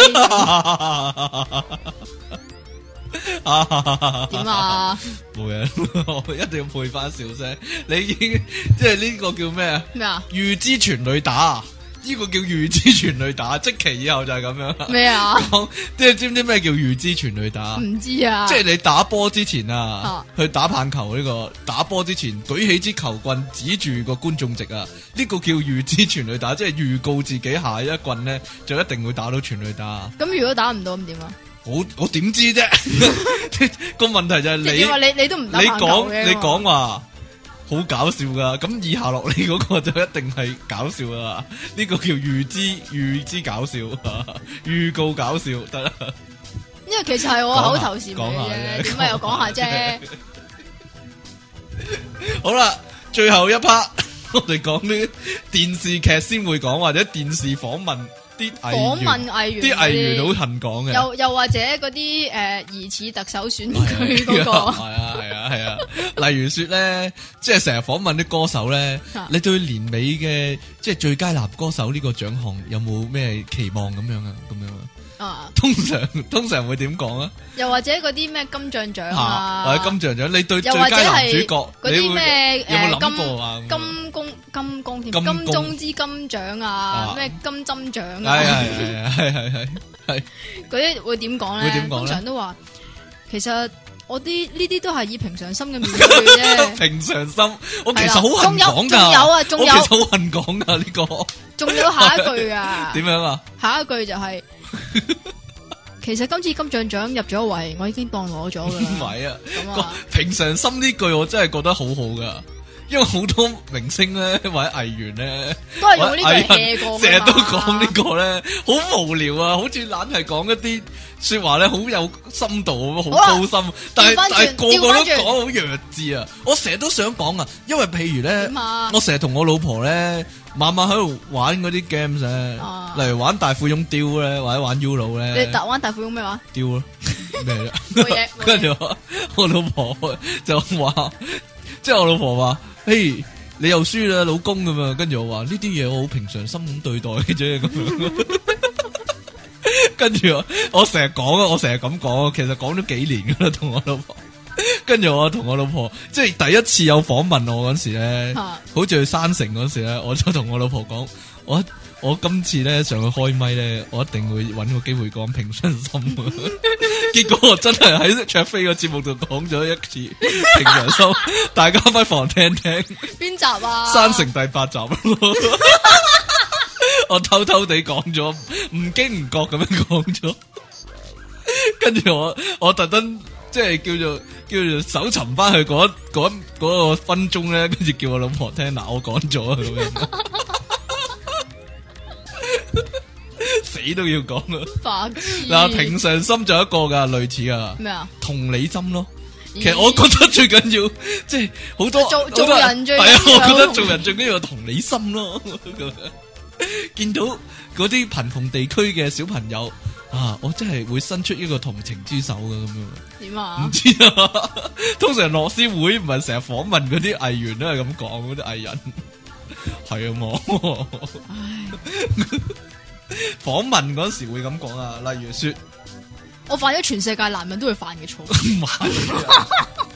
拜拜。點啊？冇嘢，我一定要配翻笑聲。你已經即係呢個叫咩啊？咩啊？預知全壘打。呢個叫預知全壘打，即期以後就係咁樣。咩啊？即係知唔知咩叫預知全壘打？唔知啊。即係你打波之前啊，啊去打棒球呢、這個打波之前舉起支球棍指住個觀眾席啊，呢、這個叫預知全壘打，即係預告自己下一棍咧就一定會打到全壘打。咁如果打唔到咁點啊？我我點知啫？個問題就係你話你你都唔打棒球嘅。你講你講話。好搞笑噶，咁以下落嚟嗰個就一定係搞笑啦。呢個叫預知預知搞笑，預告搞笑得啦。因為其實係我口頭禪嚟嘅，點解又講下啫？好啦，最後一 part 我哋講啲電視劇先會講，或者電視訪問。啲訪問藝員，啲藝員好恨講嘅，又又或者嗰啲誒疑似特首選舉嗰個，係啊係啊係啊，例如說咧，即係成日訪問啲歌手咧，你對年尾嘅即係最佳男歌手呢個獎項有冇咩期望咁樣啊？咁樣啊？啊，通常通常會點講啊？又或者嗰啲咩金像獎啊，或者金像獎，你對最佳男主角嗰啲咩有冇諗過啊？金公金公添，金鐘之金獎啊，咩金針獎啊？係係係係係係，嗰啲會點講咧？會點講咧？通常都話，其實我啲呢啲都係以平常心嘅面對啫。平常心，我其實好恨講噶，仲有啊，仲有，我其實好恨講噶呢個。仲有下一句啊？點樣啊？下一句就係。其實今次金像獎入咗圍，我已經當攞咗噶啦。唔係啊，咁啊，平常心呢句我真係覺得好好噶， 因為好多明星咧或者藝員咧， 都係用呢句 hea 過， 成日都講呢個咧，好無聊啊！好似懶係講一啲說話咧，好有深度，好高深，但係但係個個都講好弱智啊！我成日都想講啊，因為譬如咧，我成日同我老婆咧，晚晚喺度玩嗰啲 games 咧，例如玩大富翁雕咧，或者玩 Uno 咧。你玩大富翁咩話？雕咯，咩啫？冇嘢。跟住我我老婆就話，即係我老婆話，嘿。你又輸啦，老公咁嘛？跟住我話呢啲嘢我好平常心咁對待嘅啫，咁樣。跟住我我成日講啊，我成日咁講，其實講咗幾年噶啦，同我老婆。跟住我同我老婆，即係第一次有訪問我嗰時咧，啊、好似去山城嗰時咧，我就同我老婆講，我我今次咧上去開咪咧，我一定會搵個機會講平常心。結果我真係喺卓飛個節目度講咗一次平常心，大家不妨聽聽。邊集啊？山城第八集。我偷偷地講咗，唔經唔覺咁樣講咗。跟住我我特登即係叫做叫做搜尋翻去嗰嗰嗰個分鐘咧，跟住叫我老婆聽嗱，我講咗咁樣。死都要講啊！白痴嗱，平常心就一個噶，類似啊咩啊？同理心咯。其實我覺得最緊要，即係好多做做人最係啊，我覺得做人最緊要同理心咯。見到嗰啲貧窮地區嘅小朋友啊，我真係會伸出一個同情之手噶咁樣。點啊？唔知啊。通常樂施會唔係成日訪問嗰啲藝員都係咁講，嗰啲藝人係啊嘛。訪問嗰時會咁講啊，例如說，我犯咗全世界男人都會犯嘅錯。唔係啊，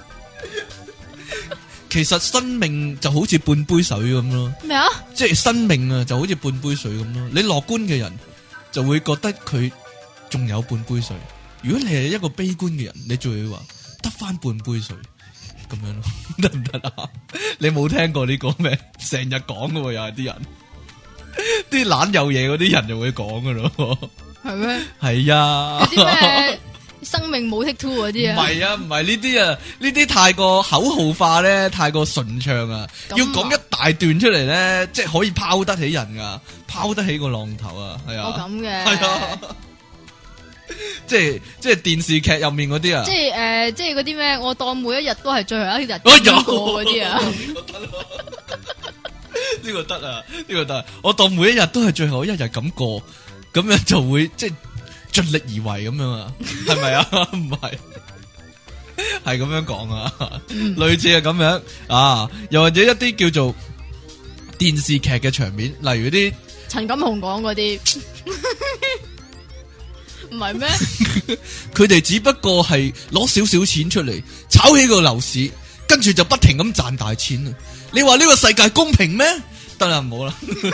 其實生命就好似半杯水咁咯。咩啊？即係生命啊，就好似半杯水咁咯。你樂觀嘅人就會覺得佢仲有半杯水，如果你係一個悲觀嘅人，你就會話得翻半杯水咁樣咯，得唔得啊？你冇聽過呢個咩？成日講噶喎，又係啲人。啲懶有嘢嗰啲人就會講噶咯，係咩？係啊，嗰啲咩生命冇 take two 嗰啲啊？唔係啊，唔係呢啲啊，呢啲太過口號化咧，太過順暢啊，要講一大段出嚟咧，即係可以拋得起人噶，拋得起個浪頭啊，係啊，哦咁嘅，係啊，即係即係電視劇入面嗰啲啊，即係誒，即係嗰啲咩，我當每一日都係最後一日咁過嗰啲啊。呢個得啊，呢個得，我當每一日都係最後一日咁過，咁樣就會即係盡力而為咁樣啊，係咪啊？唔係，係咁樣講啊，類似係咁樣啊，又或者一啲叫做電視劇嘅場面，例如啲陳錦鴻講嗰啲，唔係咩？佢哋只不過係攞少少錢出嚟炒起個樓市，跟住就不停咁賺大錢啊！你話呢個世界公平咩？得啦，唔好啦。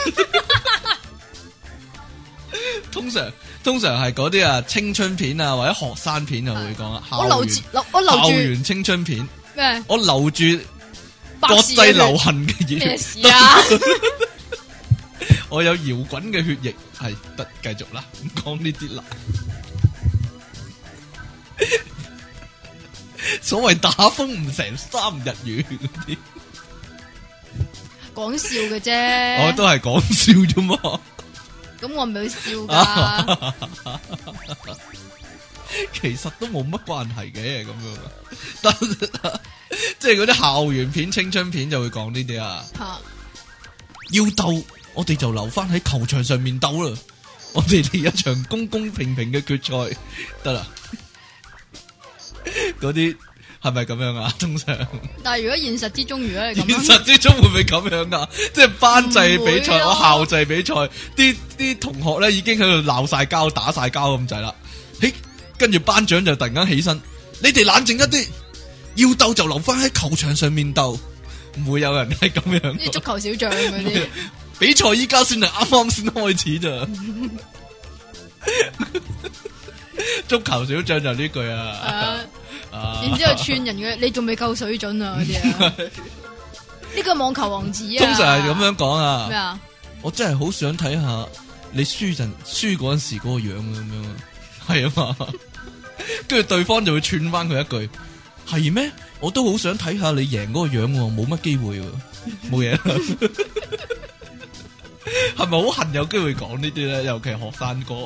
通常通常係嗰啲啊青春片啊或者學生片啊會講啊。我留住我留住校園青春片咩？我留住國際流行嘅嘢。咩事啊？我有搖滾嘅血液，係得繼續啦，唔講呢啲啦。所謂打風唔成三日雨嗰啲。講笑嘅啫，我都係講笑啫嘛。咁我唔係笑噶，其實都冇乜關係嘅咁樣。但即係嗰啲校園片、青春片就會講呢啲啊。要鬥，我哋就留翻喺球場上面鬥啦。我哋嚟一場公公平平嘅決賽得啦。嗰啲。係咪咁樣啊？通常，但係如果現實之中，如果你咁，現實之中會唔會咁樣啊？即係班際比賽，我校際比賽，啲啲同學咧已經喺度鬧晒交、打晒交咁滯啦。嘿，跟住班長就突然間起身，你哋冷靜一啲，要鬥就留翻喺球場上面鬥，唔會有人係咁樣。啲足球小將嗰啲比賽依家先係啱啱先開始咋。足球小將就呢句啊。然之後串人嘅，你仲未夠水準啊！嗰啲啊，呢個網球王子啊，通常係咁樣講啊。咩啊？我真係好想睇下你輸陣輸嗰陣時嗰個樣咁樣，係啊嘛。跟住對方就會串翻佢一句： 係咩？我都好想睇下你贏嗰個樣喎，冇乜機會喎，冇嘢啦。係咪好恨有機會講呢啲咧？尤其係學生哥，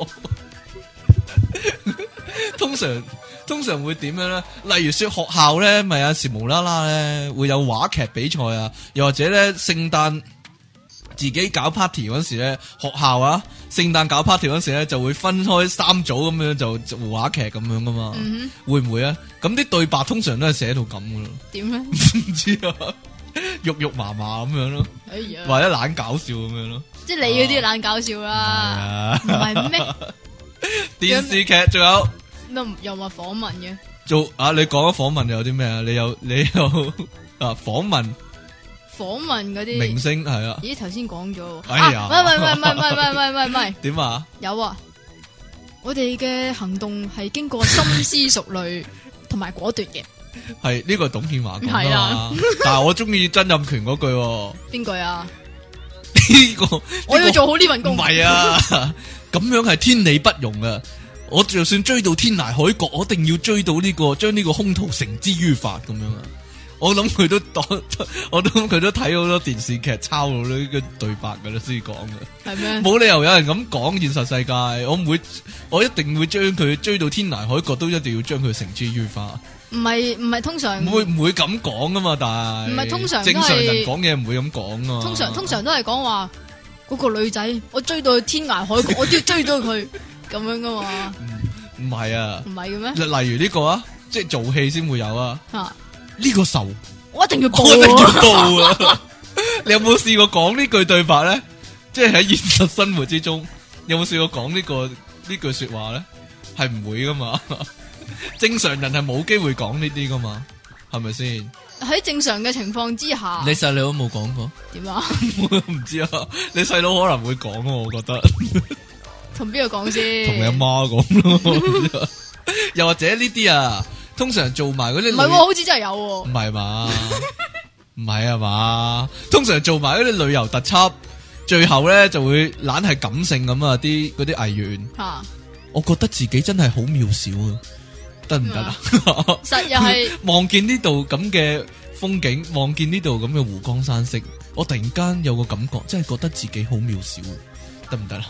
通常通常會點樣咧？例如說學校咧，咪有時無啦啦咧會有話劇比賽啊，又或者咧聖誕自己搞 party 嗰時咧，學校啊聖誕搞 party 嗰時咧就會分開三組咁樣就做話劇咁樣噶嘛，嗯、哼會唔會啊？咁啲對白通常都係寫到咁噶咯。點咧？唔知啊。肉肉麻麻咁樣咯，哎呀，或者懶搞笑咁樣咯， 即係你嗰啲懶搞笑啦，唔係咩？ 電視劇仲有， 又又話訪問嘅， 做啊！你講咗訪問有啲咩啊？你有你有啊訪問， 訪問嗰啲明星係啊？ 咦，頭先講咗， 哎呀， 唔係唔係唔係唔係唔係唔係唔係， 點啊？ 有啊，我哋嘅行動係經過深思熟慮同埋果斷嘅。 係呢個董建華講啊嘛，但係我中意曾蔭權嗰句。 邊句啊？ 呢個我要做好呢份工。 唔係啊，咁樣係天理不容啊！我就算追到天涯海角，我一定要追到呢個，將呢個兇徒繩之於法咁樣啊！我諗佢都當，我諗佢都睇好多電視劇，抄到呢個對白噶啦，先講嘅。係咩？冇理由有人咁講現實世界，我唔會，我一定會將佢追到天涯海角，都一定要將佢繩之於法。唔係唔係通常唔會唔會咁講噶嘛？但係唔係通常正常人講嘢唔會咁講啊。 通常通常都係講話嗰個女仔，我追到天涯海角，我都要追到佢咁樣噶嘛。 唔唔係啊？唔係嘅咩？例如呢個啊，即係做戲先會有啊。吓呢個仇， 我一定要報， 我一定要報啊！你有冇試過講呢句對白咧？即係喺現實生活之中，有冇試過講呢個呢句說話咧？係唔會噶嘛？正常人係冇機會講呢啲噶嘛，係咪先？ 喺正常嘅情況之下， 你細佬都冇講過？點啊？我唔知啊，你細佬可能會講啊，我覺得。 同邊個講先？ 同你阿媽講咯。又或者呢啲啊，通常做埋嗰啲， 唔係，好似真係有。 唔係嘛？唔係啊嘛？通常做埋嗰啲旅遊特輯，最後咧就會懶係感性咁啊！啲嗰啲藝員，啊、我覺得自己真係好渺小啊！得唔得啊？ 實又係望見呢度咁嘅風景，望見呢度咁嘅湖光山色，我突然間有個感覺，真係覺得自己好渺小，得唔得啦？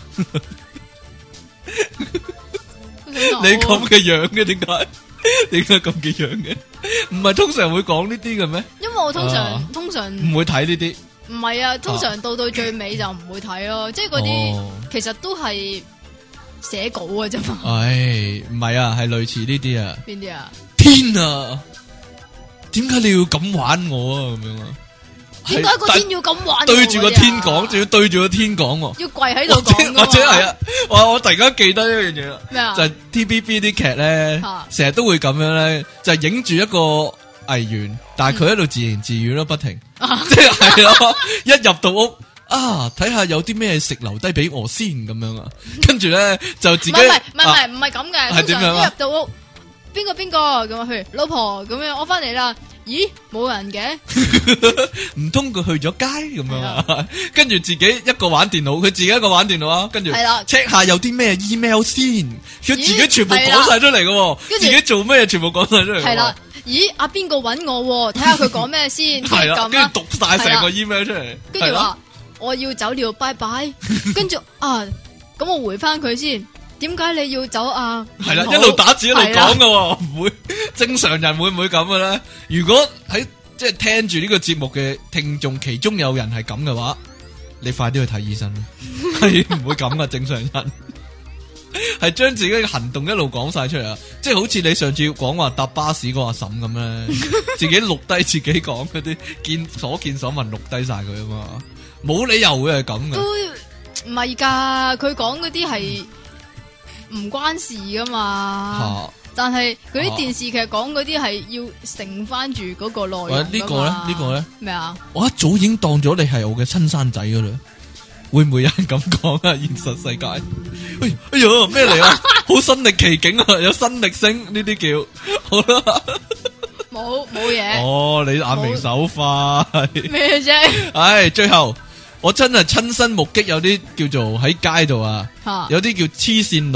你咁嘅樣嘅，點解？點解咁嘅樣嘅？唔係通常會講呢啲嘅咩？ 因為我通常、啊、通常唔會睇呢啲。 唔係啊，通常到到最尾就唔會睇咯，啊、即係嗰啲其實都係。寫稿嘅啫嘛， 唉，唔係啊，係類似呢啲啊。 邊啲啊？ 天啊，點解你要咁玩我啊？咁樣啊？ 點解個天要咁玩？ 對住個天講，仲要對住個天講， 要跪喺度講， 或者係啊？哇！我突然間記得一樣嘢啦， 咩啊？ 就係 T V B 啲劇咧，成日都會咁樣咧，就係影住一個藝員，但係佢喺度自言自語咯，不停，即係係咯，一入到屋。啊！睇下有啲咩食留低俾我先咁樣啊，跟住咧就自己唔係唔係唔係唔係咁嘅，通常一入到屋，邊個邊個咁啊？譬如老婆咁樣，我翻嚟啦，咦冇人嘅，唔通佢去咗街咁樣啊？跟住自己一個玩電腦，佢自己一個玩電腦啊，跟住 check 下有啲咩 email 先，佢自己全部講晒出嚟嘅，自己做咩全部講晒出嚟。 係啦，咦阿邊個搵我？睇下佢講咩先， 係啦，跟住讀晒成個 email 出嚟， 跟住話。我要走了，拜拜。跟住啊，咁我回翻佢先。點解你要走啊？ 係啦，一路打字一路講噶，唔會正常人會唔會咁嘅咧？如果喺即係聽住呢個節目嘅聽眾，其中有人係咁嘅話，你快啲去睇醫生啦。係唔會咁噶，正常人係將自己嘅行動一路講晒出嚟啊！即係好似你上次講話搭巴士嗰個阿嬸咁咧，自己錄低自己講嗰啲見所見所聞，錄低晒佢啊嘛。冇理由會係咁嘅， 都唔係噶。佢講嗰啲係唔關事噶嘛，啊、但係嗰啲電視劇講嗰啲係要承翻住嗰個內容噶嘛。呢個咧，呢個咧咩啊？我一早已經當咗你係我嘅親生仔噶啦，會唔會有人咁講啊？現實世界，哎哎呀咩嚟啊？好身歷其境啊，有新力聲呢啲叫好啦。冇冇嘢。 哦，你眼明手快咩啫？ 唉，最後。我真係親身目擊有啲叫做喺街度啊，有啲叫黐線佬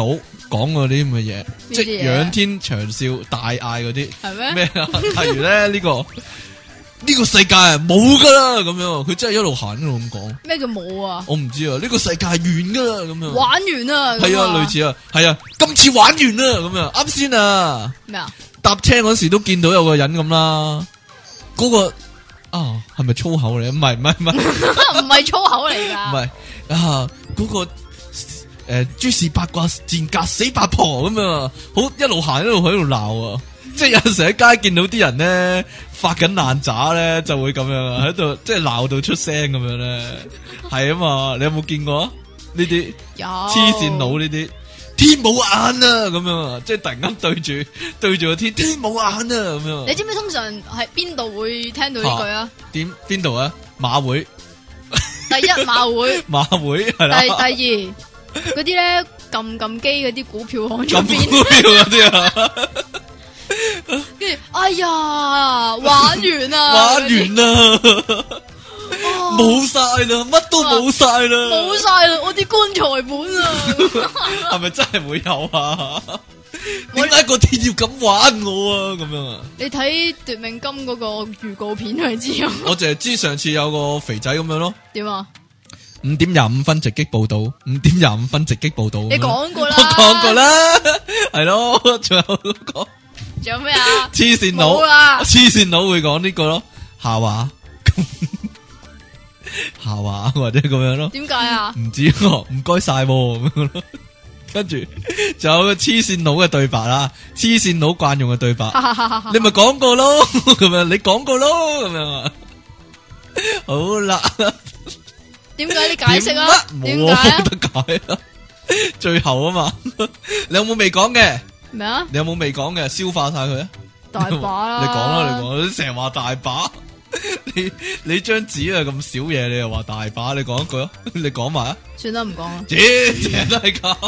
講嗰啲咁嘅嘢，即係仰天長嘯、大嗌嗰啲，係咩咩啊？例如咧呢、這個呢、這個世界啊冇噶啦咁樣，佢真係一路行一路咁講。咩叫冇啊？我唔知啊，呢、這個世界係完噶啦咁樣。玩完啦，係啊，類似啊，係啊，今次玩完啦咁樣。啱先啊，咩啊？搭車嗰時都見到有個人咁啦，嗰、那個啊係咪粗口嚟？唔係唔係唔係，唔係粗口嚟噶。唔係啊，嗰、那個誒，諸、呃、事八卦賤格死八婆咁樣，好一路行一路喺度鬧啊！即係有陣時喺街見到啲人咧發緊爛渣咧，就會咁樣啊，喺度即係鬧到出聲咁樣咧，係啊嘛！你有冇見過呢啲黐線佬呢啲？天冇眼啊，咁樣啊，即係突然間對住對住個天，天冇眼啊，咁樣。你知唔知通常喺邊度會聽到呢句啊？點邊度啊？馬會第一馬會馬會係啦。第第二嗰啲咧撳撳機嗰啲股票行出邊股票嗰啲啊。跟住哎呀，玩完啦，玩完啦。冇晒啦，乜都冇晒啦，冇晒啦，我啲棺材本啊，係咪真係會有啊？點解個天要咁玩我啊？咁樣啊？你睇奪命金嗰個預告片係知啊？我淨係知上次有個肥仔咁樣咯。點啊？五點廿五分直擊報道，五點廿五分直擊報道。你講過啦，我講過啦，係咯，仲有講，仲有咩啊？黐線佬，黐線佬會講呢個咯，下話。下話或者咁樣咯？點解啊？唔知喎，唔該晒咁樣咯。跟住仲有個黐線佬嘅對白啦，黐線佬慣用嘅對白，你咪講過咯，咁樣你講過咯，咁樣啊。好啦，點解你解釋啊？點解啊？冇得解啊！最後啊嘛，你有冇未講嘅？咩啊？你有冇未講嘅？消化晒佢啊！大把啦，你講啦，你講，你成日話大把。你你張紙啊咁少嘢，你又話大把，你講一句咯，你講埋啊，算啦唔講啦，咦，成日都係咁。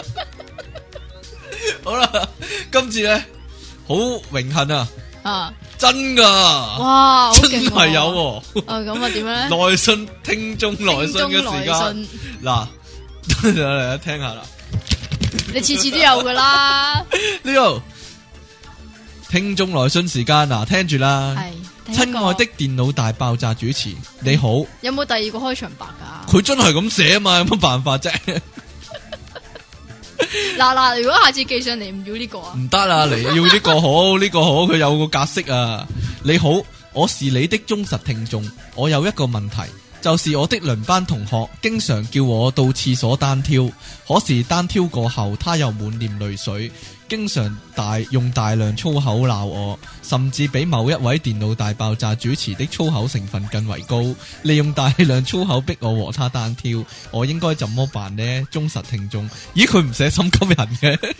好啦，今次咧好榮幸啊，啊，真噶，哇，真係有，啊咁啊點咧？來信聽眾來信嘅時間，嗱，嚟聽下啦，你次次都有噶啦，呢個聽眾來信時間嗱，聽住啦，係。親愛的電腦大爆炸主持，你好。有冇第二個開場白噶？佢真係咁寫啊嘛，有乜辦法啫？嗱嗱，如果下次寄上嚟唔要呢個啊？唔得啦，你要呢個好，呢個好，佢有個格式啊。你好，我是你的忠實聽眾，我有一個問題，就是我的輪班同學經常叫我到廁所單挑，可是單挑過後，他又滿臉淚水。經常大用大量粗口鬧我，甚至比某一位電腦大爆炸主持的粗口成分更為高，利用大量粗口逼我和他單挑，我應該怎麼辦呢？忠實聽眾，咦佢唔寫心急人嘅，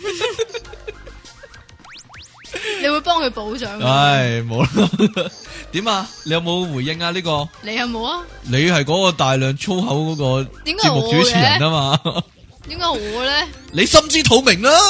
你會幫佢補上？唉，冇啦，點啊？你有冇回應啊？呢個你有冇啊？你係嗰個大量粗口嗰個節目主持人啊嘛？點解我咧？你心知肚明啦。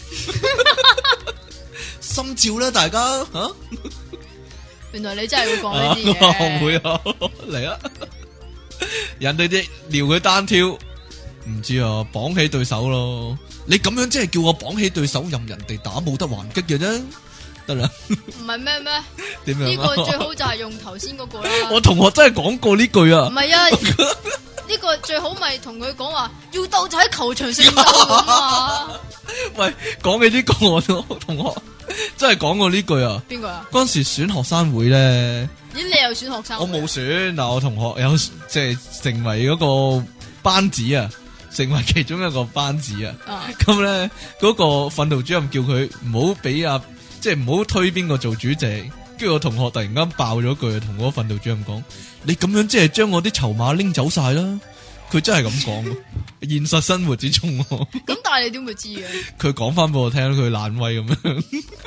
心照啦，大家吓、啊。原來你真係會講呢啲嘢。我會啊，嚟啊！人哋啲撩佢單挑，唔知啊，綁起對手咯。你咁樣即係叫我綁起對手，任人哋打，冇得還擊嘅啫。得啦。唔係咩咩？點樣？呢個最好就係用頭先嗰個啦。我同學真係講過呢句啊。唔係啊。呢個最好咪同佢講話，要鬥就喺球場上鬥咁啊！喂，講起呢個我同學真係講過呢句啊！邊個啊？嗰陣時選學生會咧，咦？你又選學生會？我冇選，嗱我同學有即係成為嗰個班子啊，成為其中一個班子啊。咁咧嗰個訓導主任叫佢唔好俾啊，即係唔好推邊個做主席。跟住我同學突然間爆咗句，同嗰個訓導主任講：你咁樣即係將我啲籌碼拎走晒啦！佢真係咁講，現實生活之中。咁但係你點會知嘅？佢講翻俾我聽，佢懶威咁樣，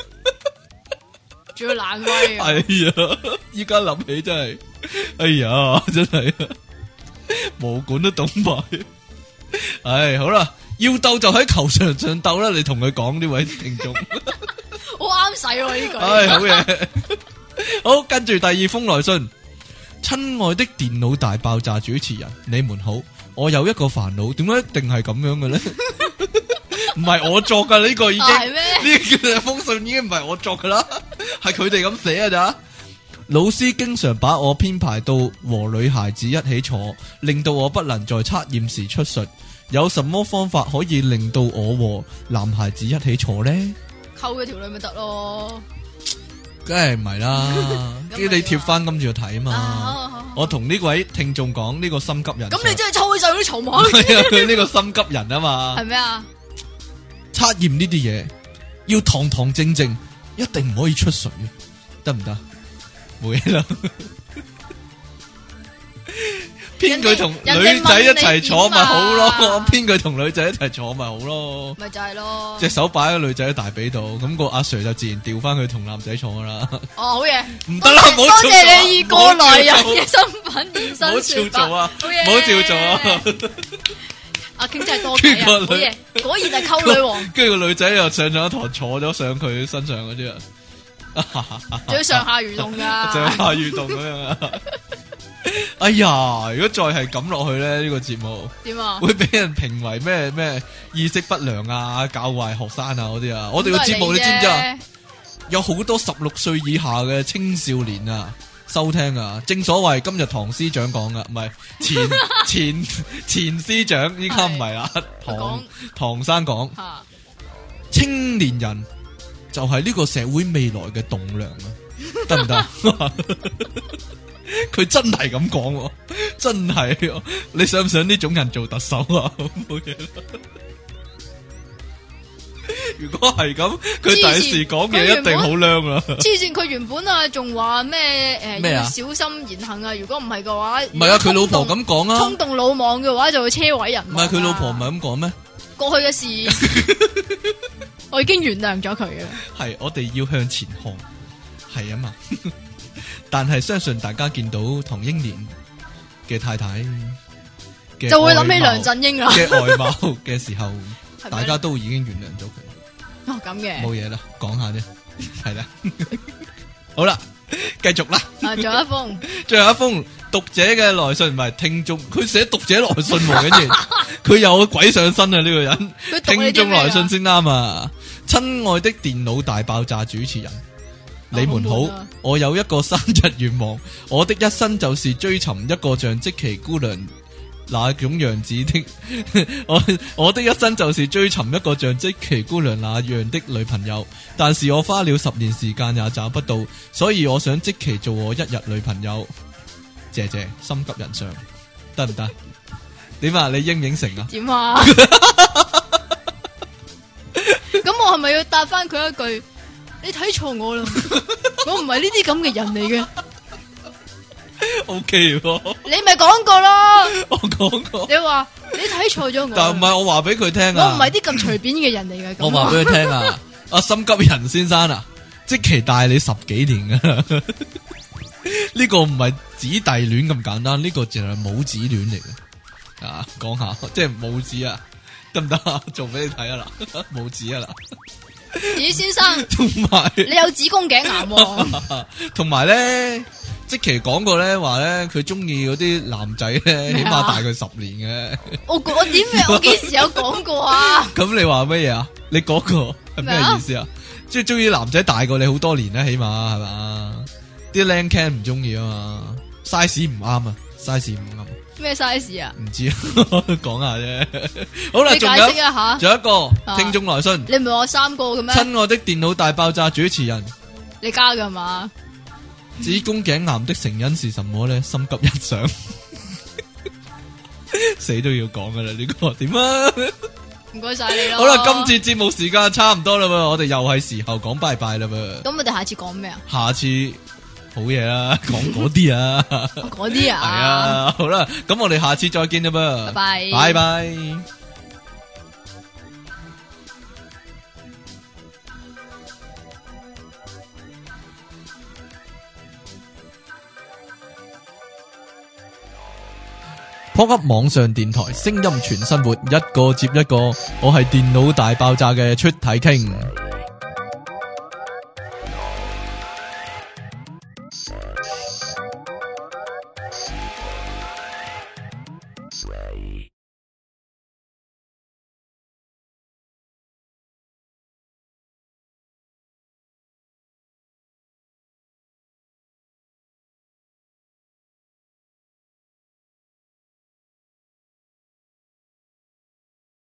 仲要懶威。哎呀，依家諗起真係，哎呀，真係毛管都懂埋。唉，好啦，要鬥就喺球場上鬥啦！你同佢講呢位聽眾。好啱使喎呢句，唉好嘢，好，跟住第二封來信，親愛的電腦大爆炸主持人，你們好，我有一個煩惱，點解一定係咁樣嘅咧？ 唔係我作噶呢個已經， 係咩？ 呢封信已經唔係我作噶啦，係佢哋咁寫啊咋？老師經常把我編排到和女孩子一起坐，令到我不能在測驗時出術。有什麼方法可以令到我和男孩子一起坐呢？ 溝佢條女咪得咯， 梗係唔係啦，叫你貼翻跟住睇啊嘛。 啊好好好我同呢位聽眾講呢個心急人， 咁你真係抽起晒嗰啲籌碼。 係啊，佢呢個心急人啊嘛。 係咩啊？ 測驗呢啲嘢要堂堂正正，一定唔可以出水，得唔得？冇嘢啦。編佢同女仔一齊坐咪好咯，編佢同女仔一齊坐咪好咯， 咪就係咯。 隻手擺喺女仔嘅大髀度，咁個阿 Sir 就自然調翻佢同男仔坐噶啦。 哦，好嘢， 唔得啦，多謝你以過來人嘅身份現身。 唔好照做啊，唔好照做啊。 阿 King 真係多計啊，好嘢，果然係溝女王。 跟住個女仔又上咗一堂，坐咗上佢身上嗰啲啊， 仲要上下移動噶， 上下移動咁樣啊。哎呀，如果再係咁落去咧，呢、這個節目點啊？ 會俾人評為咩咩意識不良啊、教壞學生啊嗰啲啊。我哋個節目你知唔知啊？有好多十六歲以下嘅青少年啊收聽啊。正所謂今日唐司長講噶，唔係前前前司長，依家唔係啦。唐唐生講，青年人就係呢個社會未來嘅棟樑啊，得唔得？佢真係咁講，真係、啊，你想唔想呢種人做特首啊？冇嘢啦。如果係咁，佢第時講嘢一定好靚啦。黐線，佢原本啊仲話咩誒要小心言行啊，如果唔係嘅話， 唔係啊，佢老婆咁講啊， 衝動魯莽嘅話就會車毀人。 唔係佢老婆唔係咁講咩？ 過去嘅事，我已經原諒咗佢嘅。 係，我哋要向前看，係啊嘛。但係相信大家見到唐英年嘅太太嘅就會諗起梁振英啦嘅外貌嘅時候，大家都已經原諒咗佢。 哦，咁嘅冇嘢啦，講下啫，係啦。好啦，繼續啦。 啊，仲有一封， 最後一封讀者嘅來信，唔係聽眾，佢寫讀者來信喎，跟住佢有鬼上身啊！呢、這個人聽眾來信先啱啊！親愛的電腦大爆炸主持人。你們好，我有一個生日願望，我的一生就是追尋一個像積淇姑娘那種樣子的，我我的一生就是追尋一個像積淇姑娘那樣的女朋友，但是我花了十年時間也找不到，所以我想積淇做我一日女朋友。謝謝，心急人上，得唔得？點啊？你應唔應承啊？ 點啊？咁我係咪要答翻佢一句？你睇錯我啦，我唔係呢啲咁嘅人嚟嘅。 O K 喎， 你咪講過咯， 我講過。 你話你睇錯咗我， 但唔係我話俾佢聽啊， 我唔係啲咁隨便嘅人嚟嘅。 我話俾佢聽啊，阿心急人先生啊，積淇大你十幾年噶，呢個唔係姊弟戀咁簡單，呢、這個淨係母子戀嚟嘅。啊，講下即係母子啊，得唔得啊？做俾你睇啊嗱，母子啊嗱。 咦，先生， 同埋你有子宮頸癌， 同埋咧，積淇講過咧，話咧佢中意嗰啲男仔咧，起碼大佢十年嘅。 我我點樣？我幾時有講過啊？ 咁你話乜嘢啊？你嗰個係咩意思啊？即係中意男仔大過你好多年咧，起碼係嘛？啲靚 can 唔中意啊嘛 ，size 唔啱啊 ，size 唔啱。 咩 size 啊？ 唔知啊，講下啫。好啦， 你解釋一下。 仲有一個聽眾來信。 你唔係話三個嘅咩？ 親愛的電腦大爆炸主持人， 你加㗎嘛？ 子宮頸癌的成因是什麼咧？心急人上，死都要講噶啦呢個點啊？ 唔該晒你咯。 好啦，今次節目時間差唔多啦，我哋又係時候講拜拜啦噃。 咁我哋下次講咩啊？ 下次。好嘢啦，講嗰啲啊， 嗰啲啊， 係啊，好啦，咁我哋下次再見啦噃， 拜拜， 拜拜。Pop Up 網上電台，聲音全生活，一個接一個，我係電腦大爆炸嘅出體 king。